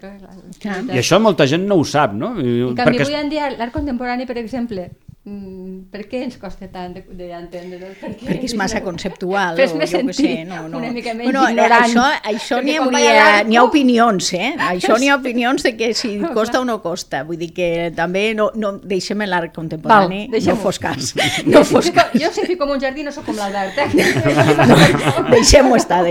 I això molta gent no ho sap, no? En canvi, avui en dia, l'art contemporani, per exemple, per què ens costa tant d'entendre? Perquè és massa conceptual. Fes més sentit, una mica menys ignorant. Això n'hi ha opinions, Això n'hi ha opinions de que si costa o no costa. Vull dir que també no deixem l'art contemporani, no fos cas. Jo sé que com un jardí no sóc com l'Albert. Deixem-ho estar.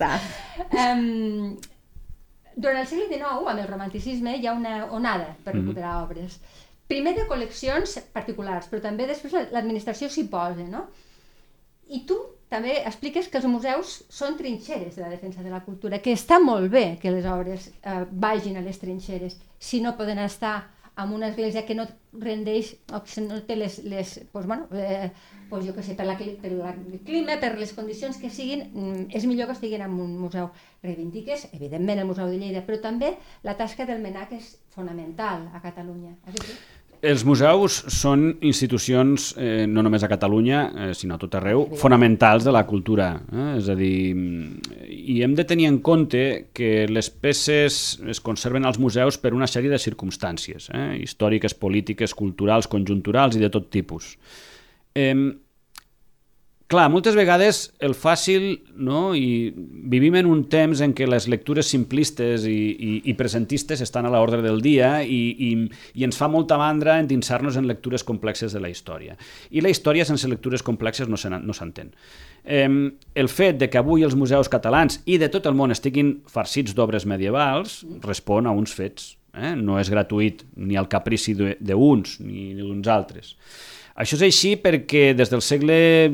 Durant el segle XIX, amb el romanticisme, hi ha una onada per recuperar obres. Primer de col·leccions particulars, però també després l'administració s'hi posa, no? I tu també expliques que els museus són trinxeres de la defensa de la cultura, que està molt bé que les obres vagin a les trinxeres, si no poden estar en una església que no rendeix, o que no té jo què sé, per el clima, per les condicions que siguin, és millor que estiguin en un museu. Reivindiques, evidentment, el Museu de Lleida, però també la tasca del MNAC és fonamental a Catalunya. Els museus són institucions, no només a Catalunya, sinó a tot arreu, fonamentals de la cultura. És a dir, i hem de tenir en compte que les peces es conserven als museus per una sèrie de circumstàncies, històriques, polítiques, culturals, conjunturals i de tot tipus. Clar, moltes vegades el fàcil, no? I vivim en un temps en què les lectures simplistes i presentistes estan a l'ordre del dia i ens fa molta mandra endinsar-nos en lectures complexes de la història. I la història sense lectures complexes no s'entén. El fet de que avui els museus catalans i de tot el món estiguin farcits d'obres medievals respon a uns fets. No és gratuït ni al caprici d'uns ni d'uns altres. Això és així perquè des del segle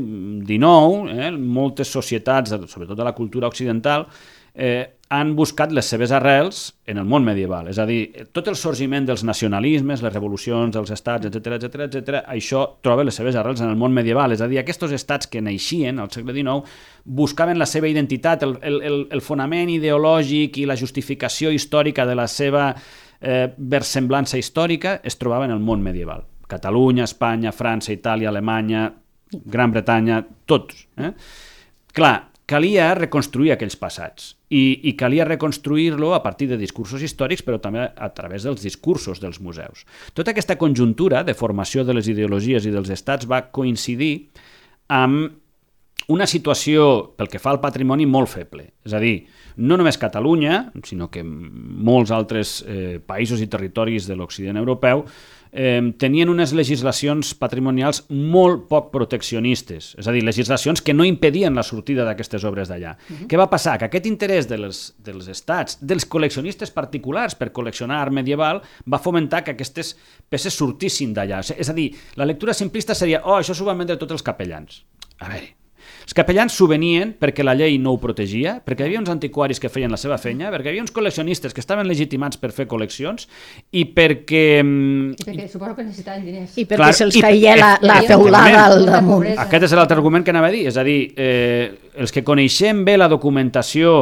XIX moltes societats, sobretot de la cultura occidental, han buscat les seves arrels en el món medieval. És a dir, tot el sorgiment dels nacionalismes, les revolucions dels estats, etc., això troba les seves arrels en el món medieval. És a dir, aquests estats que naixien al segle XIX buscaven la seva identitat, el fonament ideològic i la justificació històrica de la seva versemblança històrica es trobava en el món medieval. Catalunya, Espanya, França, Itàlia, Alemanya, Gran Bretanya, tots. Clar, calia reconstruir aquells passats i calia reconstruir-lo a partir de discursos històrics, però també a través dels discursos dels museus. Tota aquesta conjuntura de formació de les ideologies i dels estats va coincidir amb una situació, pel que fa al patrimoni, molt feble. És a dir, no només Catalunya, sinó que molts altres països i territoris de l'Occident europeu tenien unes legislacions patrimonials molt poc proteccionistes, és a dir, legislacions que no impedien la sortida d'aquestes obres d'allà. Què va passar? Que aquest interès dels estats, dels col·leccionistes particulars per col·leccionar art medieval, va fomentar que aquestes peces sortissin d'allà. És a dir, la lectura simplista seria això s'ho van vendre tots els capellans. A veure, els capellans s'ho venien perquè la llei no ho protegia, perquè hi havia uns antiquaris que feien la seva feina, perquè hi havia uns col·leccionistes que estaven legitimats per fer col·leccions i perquè... I perquè suposo que necessitaven diners. I perquè se'ls caia la teulada al damunt. Aquest és l'altre argument que anava a dir, és a dir, els que coneixem bé la documentació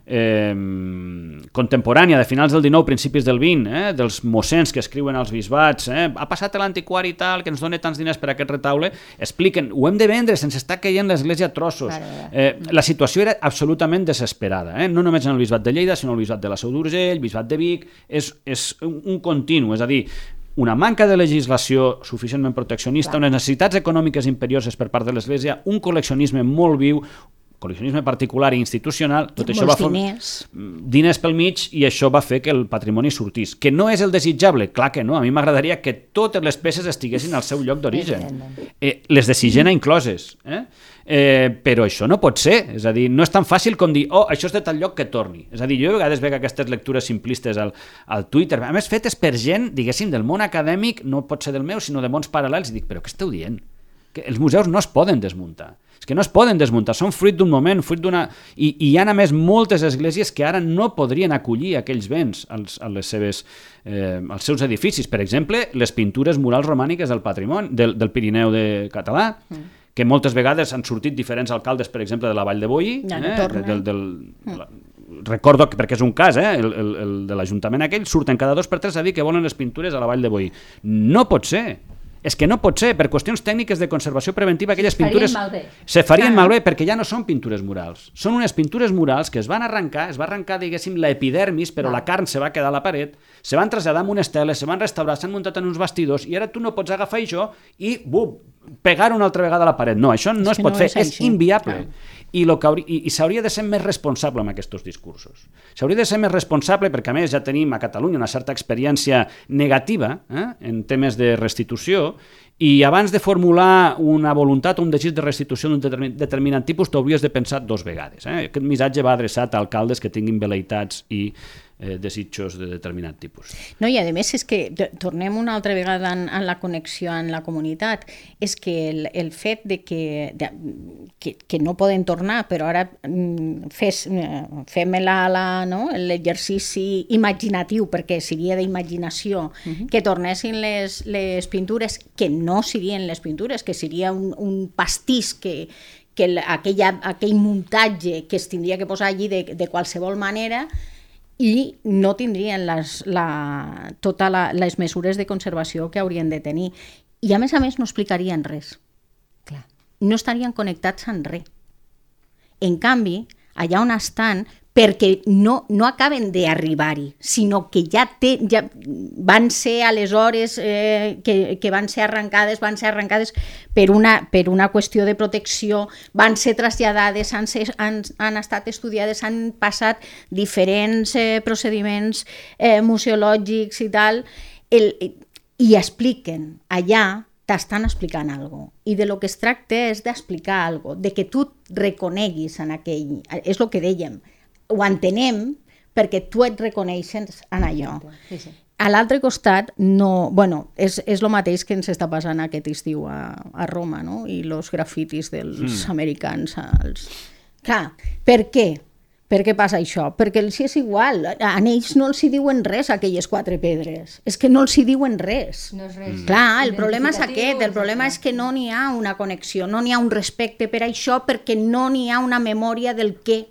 contemporània de finals del XIX, principis del XX, dels mossens que escriuen als bisbats, ha passat l'antiquari tal, que ens dona tants diners per aquest retaule, expliquen, ho hem de vendre, se'ns està caient l'església a trossos. La situació era absolutament desesperada, no només en el bisbat de Lleida, sinó el bisbat de la Seu d'Urgell, el bisbat de Vic, és un continu, és a dir, una manca de legislació suficientment proteccionista, unes necessitats econòmiques imperioses per part de l'església, un col·leccionisme molt viu, col·leccionisme particular i institucional, tot això va fer diners pel mig i això va fer que el patrimoni sortís. Que no és el desitjable? Clar que no. A mi m'agradaria que totes les peces estiguessin al seu lloc d'origen. Les de Sigena incloses. Però això no pot ser. És a dir, no és tan fàcil com dir això és de tal lloc que torni. És a dir, jo a vegades veig aquestes lectures simplistes al Twitter, a més fetes per gent, diguéssim, del món acadèmic, no pot ser del meu, sinó de mons paral·lels, i dic, però què esteu dient? Que els museus no es poden desmuntar. És que no es poden desmuntar, són fruit d'un moment, fruit d'una... I hi ha, a més, moltes esglésies que ara no podrien acollir aquells béns als seus edificis. Per exemple, les pintures murals romàniques del patrimoni, del Pirineu català, que moltes vegades han sortit diferents alcaldes, per exemple, de la Vall de Boí, recordo que, perquè és un cas, el de l'Ajuntament aquell, surten cada 2 per 3 a dir que volen les pintures a la Vall de Boí. No pot ser. És que no pot ser, per qüestions tècniques de conservació preventiva, aquelles pintures se farien malbé perquè ja no són pintures murals. Són unes pintures murals que es van arrencar, diguéssim, l'epidermis, però la carn se va quedar a la paret, se van traslladar amb unes teles, se van restaurar, s'han muntat en uns bastidors i ara tu no pots agafar això i pegar una altra vegada a la paret. No, això no es pot fer, és inviable. I s'hauria de ser més responsable amb aquests discursos. S'hauria de ser més responsable perquè, a més, ja tenim a Catalunya una certa experiència negativa en temes de restitució I abans de formular una voluntat o un desig de restitució d'un determinat tipus, t'hauries de pensar 2 vegades. Aquest missatge va adreçat a alcaldes que tinguin velleïtats i desitjos de determinat tipus. No, i a més és que, tornem una altra vegada en la connexió amb la comunitat, és que el fet de que no poden tornar, però ara fem l'exercici imaginatiu, perquè seria d'imaginació, que tornessin les pintures, que no serien les pintures, que seria un pastís que aquell muntatge que es tindria que posar allí de qualsevol manera, i no tindrien totes les mesures de conservació que haurien de tenir. I a més no explicarien res. Clar. No estarien connectats amb res. En canvi, allà on estan, perquè no acaben d'arribar-hi, sinó que ja van ser aleshores que van ser arrencades per una qüestió de protecció, van ser traslladades, han estat estudiades, han passat diferents procediments museològics i tal, i expliquen allà, t'estan explicant alguna cosa. I de lo que es tracta és d'explicar alguna cosa, de que tu reconeguis en aquell... És el que dèiem, ho entenem perquè tu et reconeixes en allò. Sí, sí. A l'altre costat, no, bueno, és el mateix que ens està passant aquest estiu a Roma, no? I els grafitis dels americans. Clar, per què? Per què passa això? Perquè els és igual, a ells no els hi diuen res aquelles 4 pedres, és que no els hi diuen res. No és res. Clar, el problema és aquest, el problema és que no n'hi ha una connexió, no n'hi ha un respecte per això, perquè no n'hi ha una memòria del què.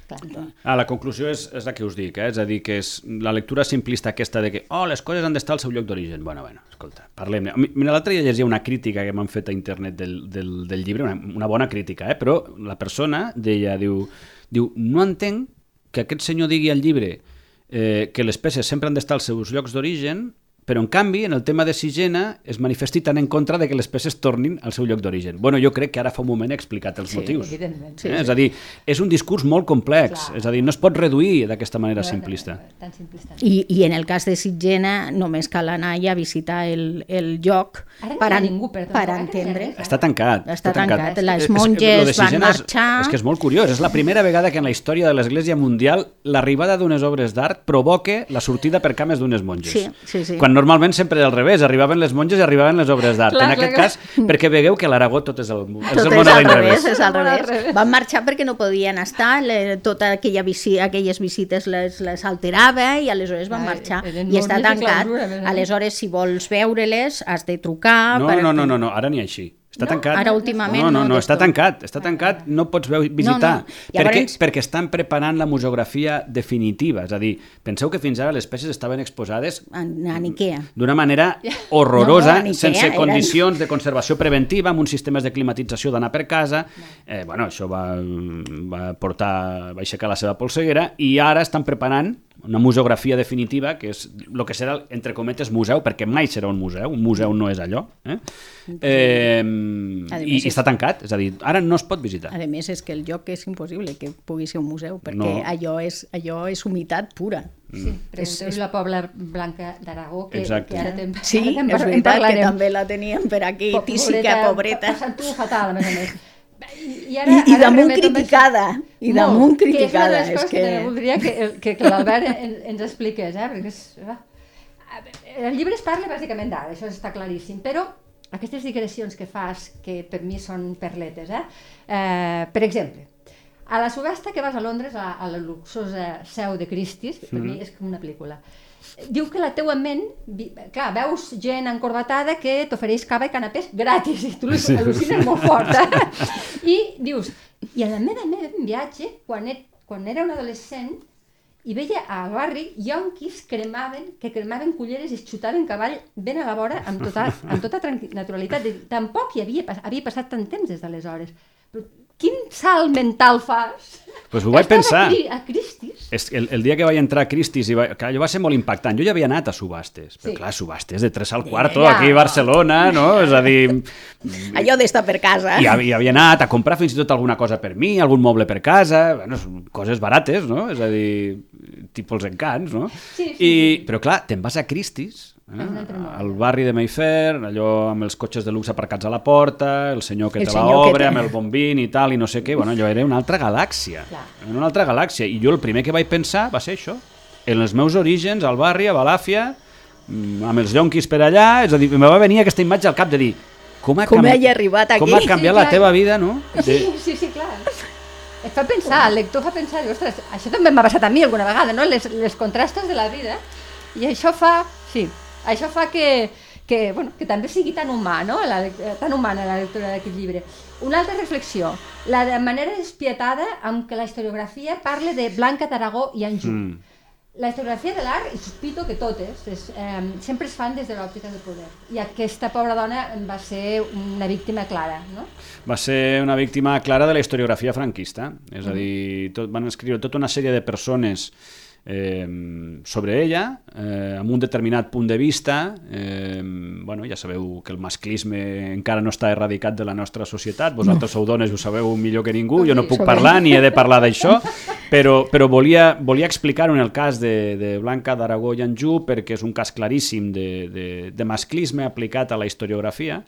La conclusió és la que us dic, és a dir, que és la lectura simplista aquesta de que les coses han d'estar al seu lloc d'origen. Bueno, escolta, parlem-ne. Mira, l'altre dia llegia una crítica que m'han fet a internet del llibre, una bona crítica, però la persona deia, diu, no entenc que aquest senyor digui al llibre que les peces sempre han d'estar als seus llocs d'origen, però en canvi, en el tema de Sigena, es manifesti tan en contra de que les peces tornin al seu lloc d'origen. Bueno, jo crec que ara fa un moment he explicat els motius. Sí. És a dir, és un discurs molt complex, és a dir, no es pot reduir d'aquesta manera simplista. Tan simplista. I en el cas de Sigena només cal anar a visitar el lloc per entendre. Està tancat. Està tancat. Les monges van marxar... És que és molt curiós, és la primera vegada que en la història de l'Església Mundial l'arribada d'unes obres d'art provoca la sortida per cames d'unes monges. Sí. Quan normalment sempre al revés, arribaven les monges i arribaven les obres d'art. En aquest cas, perquè vegueu que a l'Aragó tot és el món a l'inrevés. És al revés. Van marxar perquè no podien estar, totes aquelles visites les alterava i aleshores van marxar. I està tancat. Aleshores, si vols veure-les, has de trucar... No, ara n'hi ha així. Està tancat. Ara últimament no, està tancat, no pots visitar. Llavors... Perquè estan preparant la museografia definitiva, és a dir, penseu que fins ara les peces estaven exposades en Ikea d'una manera horrorosa, sense condicions de conservació preventiva, amb uns sistemes de climatització d'anar per casa. Això va aixecar la seva polseguera i ara estan preparant una museografia definitiva, que és el que serà, entre cometes, museu, perquè mai serà un museu no és allò, i està tancat, és a dir, ara no es pot visitar. A més, és que el lloc és impossible que pugui ser un museu, perquè allò és humitat pura. Sí, pregunteu la Pobla Blanca d'Aragó, que ara sí, és veritat que també la teníem per aquí, tísica, pobreta. Passant-ho fatal, a més a més. I damunt criticada. I damunt criticada. Que és una de les coses que voldria que l'Albert ens expliqués, perquè el llibre es parla bàsicament d'ara, això està claríssim, però aquestes digressions que fas, que per mi són perletes, per exemple, a la subhasta que vas a Londres, a la luxosa seu de Christie's, per mi és com una pel·lícula, diu que la teua ment, clar, veus gent encorbatada que t'ofereix cava i canapés gratis, i tu al·lucines molt fort, I dius, i a la meva viatge, quan era un adolescent, i veia al barri ionquis que cremaven culleres i es xutaven cavall ben a la vora amb tota naturalitat. Tampoc havia passat tant temps des d'aleshores. Però quin salt mental fas? Pues ho vaig pensar. A Christie's. El dia que vaig entrar a Christie's, allò va ser molt impactant. Jo ja havia anat a subhastes, però clar, subhastes de 3 al quarto, aquí a Barcelona, no? És a dir... Allò d'estar per casa. I havia anat a comprar fins i tot alguna cosa per mi, algun moble per casa, coses barates, no? És a dir, tipus els encants, no? Sí. Però clar, te'n vas a Christie's, al barri de Mayfair, allò amb els cotxes de luxe aparcats a la porta, el senyor que te l'obre amb el bombín i tal, i no sé què, bueno, allò era una altra galàxia. Una altra galàxia. I jo el primer que vaig pensar va ser això, en els meus orígens, al barri, a Balàfia, amb els llonquis per allà, és a dir, em va venir aquesta imatge al cap de dir com ha canviat la teva vida, no? Sí, clar. Et fa pensar, el lector fa pensar, ostres, això també m'ha passat a mi alguna vegada, no? Les contrastos de la vida, i això fa que també sigui tan humà, no? Tan humana la lectura d'aquest llibre. Una altra reflexió, la manera despietada amb què la historiografia parla de Blanca d'Aragó i Anjou. La historiografia de l'art, i sospito que totes, sempre es fan des de l'òptica del poder. I aquesta pobra dona va ser una víctima clara, no? Va ser una víctima clara de la historiografia franquista. És a dir, van escriure tota una sèrie de persones sobre ella, amb un determinat punt de vista. Bueno, ja sabeu que el masclisme encara no està erradicat de la nostra societat, vosaltres sou dones i ho sabeu millor que ningú, jo no puc parlar ni he de parlar d'això, però volia explicar-ho en el cas de Blanca d'Aragó i Anjou, perquè és un cas claríssim de masclisme aplicat a la historiografia,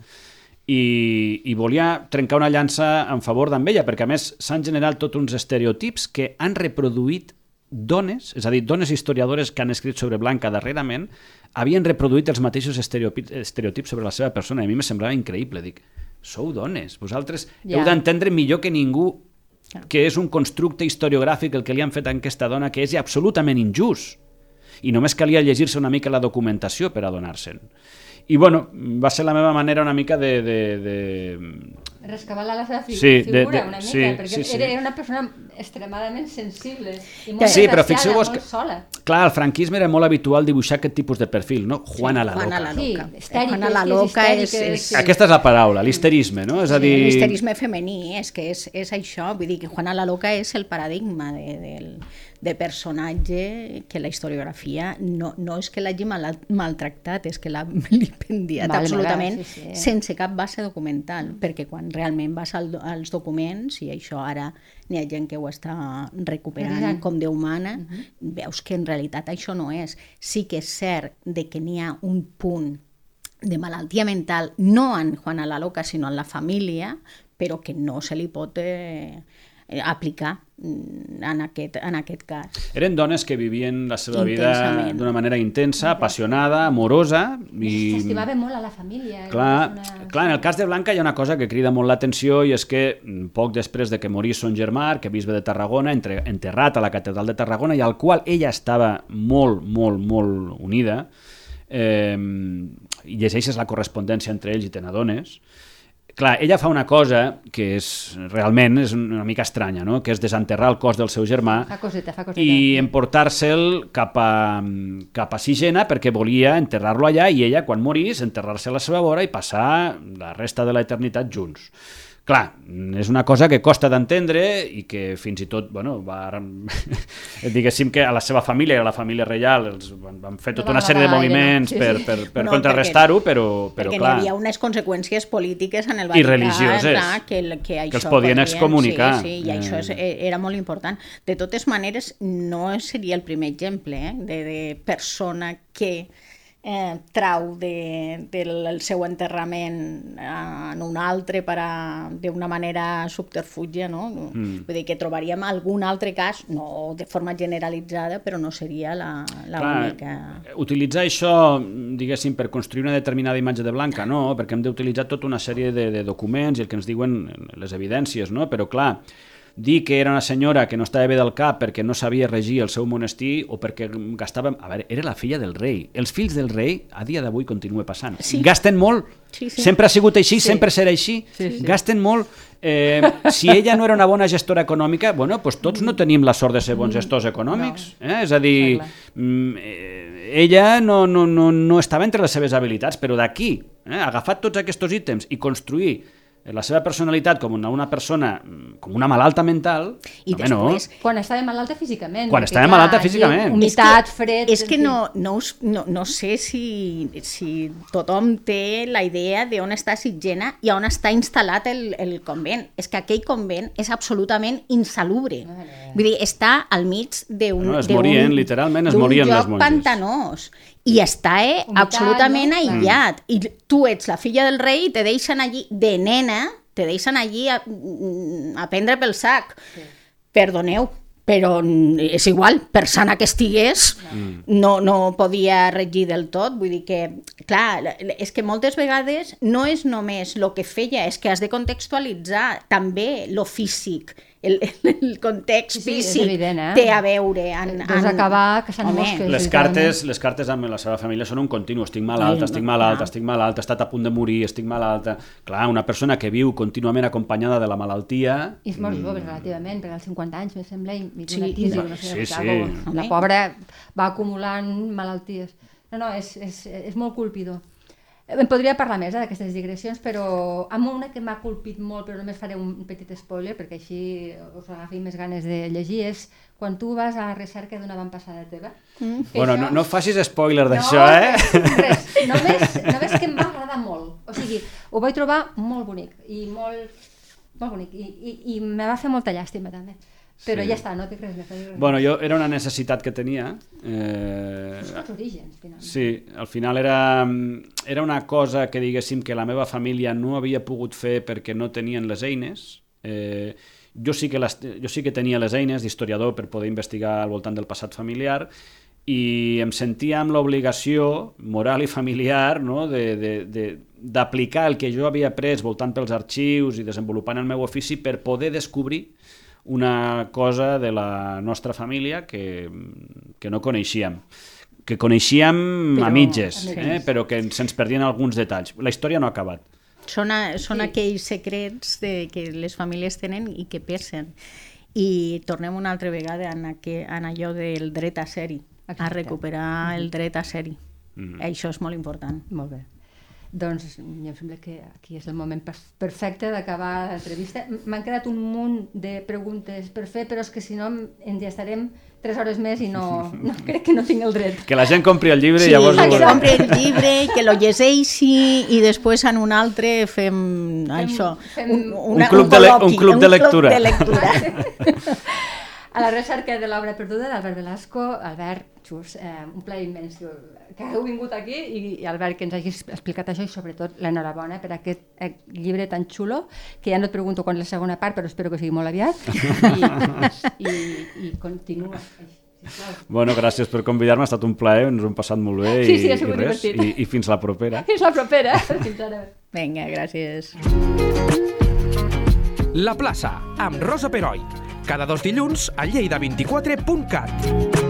i volia trencar una llança en favor d'ella, perquè a més s'han generat tots uns estereotips que han reproduït dones, és a dir, dones historiadores que han escrit sobre Blanca darrerament, havien reproduït els mateixos estereotips sobre la seva persona, i a mi me semblava increïble. Dic, sou dones, vosaltres heu d'entendre millor que ningú que és un constructe historiogràfic el que li han fet a aquesta dona, que és absolutament injust, i només calia llegir-se una mica la documentació per adonar-se'n. I bueno, va ser la meva manera una mica de rescabalar la seva figura una mica, perquè era una persona extremadament sensible i molt desgraciada, molt sola. Clar, al franquisme era molt habitual dibuixar aquest tipus de perfil, no? Juana la Loca. Juana la Loca és... Aquesta és la paraula, l'histerisme, no? És a dir... L'histerisme femení, és que és això, vull dir que Juana la Loca és el paradigma de personatge que la historiografia no és que l'hagi maltractat, és que l'ha vilipendiat absolutament sense cap base documental, perquè quan realment vas als documents, i això ara n'hi ha gent que ho està recuperant com Déu mana, veus que en realitat això no és. Sí que és cert de que n'hi ha un punt de malaltia mental, no en Juana la Loca, sinó en la família, però que no se li pot aplicar en aquest cas. Eren dones que vivien la seva vida d'una manera intensa, apassionada, amorosa. S'estimaven molt a la família. Clar, en el cas de Blanca hi ha una cosa que crida molt l'atenció, i és que poc després de que morís son germà, arquebisbe de Tarragona, enterrat a la catedral de Tarragona, i al qual ella estava molt, molt, molt unida, i llegeixes la correspondència entre ells i te n'adones. Clar, ella fa una cosa que realment és una mica estranya, no? Que és desenterrar el cos del seu germà i emportar-se'l cap a Sigena, perquè volia enterrar-lo allà, i ella, quan morís, enterrar-se a la seva vora i passar la resta de l'eternitat junts. Clar, és una cosa que costa d'entendre i que fins i tot, bueno, diguéssim que a la seva família i a la família reial van fer tota una sèrie de moviments per contrarrestar-ho, però clar... Perquè n'hi havia unes conseqüències polítiques en el Vaticà, i religioses, que els podien excomunicar. Sí, i això era molt important. De totes maneres, no seria el primer exemple de persona que trau del seu enterrament en un altre d'una manera subterfúgia, no? Vull dir que trobaríem algun altre cas, no de forma generalitzada, però no seria l'única. Utilitzar això, diguéssim, per construir una determinada imatge de Blanca, no, perquè hem d'utilitzar tota una sèrie de documents i el que ens diuen les evidències, no? Però clar, dir que era una senyora que no estava bé del cap perquè no sabia regir el seu monestir o perquè gastava... A veure, era la filla del rei. Els fills del rei, a dia d'avui, continua passant. Sí. Gasten molt. Sí. Sempre ha sigut així, sempre serà així. Sí. Gasten molt. Si ella no era una bona gestora econòmica, bueno, doncs tots no tenim la sort de ser bons gestors econòmics. És a dir, ella no estava entre les seves habilitats, però d'aquí, agafar tots aquests ítems i construir la seva personalitat com una persona, com una malalta mental... I després, quan estava malalta físicament. Quan estava malalta físicament. Humitat, fred... És que no sé si tothom té la idea d'on està Sitgena i on està instal·lat el convent. És que aquell convent és absolutament insalubre. Vull dir, està al mig d'un literalment es morien les lloc monges. pantanós. i està absolutament aïllat. I tu ets la filla del rei i te deixen allí, de nena, te deixen allí a prendre pel sac. Sí. Perdoneu, però és igual, per sana que estigués, no podia regir del tot. Vull dir que, clar, és que moltes vegades no és només el que feia, és que has de contextualitzar també lo físic. El context físic evident, té a veure doncs acabar que les cartes amb la seva família són un continu, estic malalt, he estat a punt de morir, estic malalta. Clar, una persona que viu contínuament acompanyada de la malaltia... I és molt jove relativament, perquè als 50 anys, me sembla, la pobra va acumulant malalties. No, és molt colpidor. En podria parlar més d'aquestes digressions, però amb una que m'ha colpit molt, però només faré un petit spoiler, perquè així us agafi més ganes de llegir, és quan tu vas a la recerca d'una avantpassada teva. Bueno, no facis spoiler d'això, Res, només que em va agradar molt. O sigui, ho vaig trobar molt bonic, i molt bonic, i me va fer molta llàstima també. Però ja està, no té res més. Bueno, era una necessitat que tenia. Els orígens, finalment. Sí, al final era una cosa que diguéssim que la meva família no havia pogut fer perquè no tenien les eines. Jo sí que tenia les eines d'historiador per poder investigar al voltant del passat familiar i em sentia amb l'obligació moral i familiar, no?, d'aplicar el que jo havia après voltant pels arxius i desenvolupant el meu ofici per poder descobrir una cosa de la nostra família que no coneixíem, que coneixíem a mitges, però que se'ns perdien alguns detalls. La història no ha acabat. Són aquells secrets que les famílies tenen i que pesen. I tornem una altra vegada en allò del dret a ser-hi, a recuperar el dret a ser-hi. Això és molt important. Molt bé. Doncs em sembla que aquí és el moment perfecte d'acabar l'entrevista. M'han quedat un munt de preguntes per fer, però és que si no ens hi estarem 3 hores més i no crec que no tinc el dret. Que la gent compri el llibre i llavors... Sí, que compri el llibre, que lo llegeixi i després en un altre fem això. Un club de lectura. A la recerca de l'obra perduda d'Albert Velasco. Albert, just, un plaer immens que heu vingut aquí i Albert, que ens hagis explicat això i sobretot l'enhorabona per aquest llibre tan xulo, que ja no et pregunto quan és la segona part, però espero que sigui molt aviat i continua. Bueno, gràcies per convidar-me, ha estat un plaer, ens ho hem passat molt bé i fins la propera. Fins la propera. Fins ara. Vinga, gràcies. La plaça, amb Rosa Peroi. Cada 2 dilluns a lleida24.cat.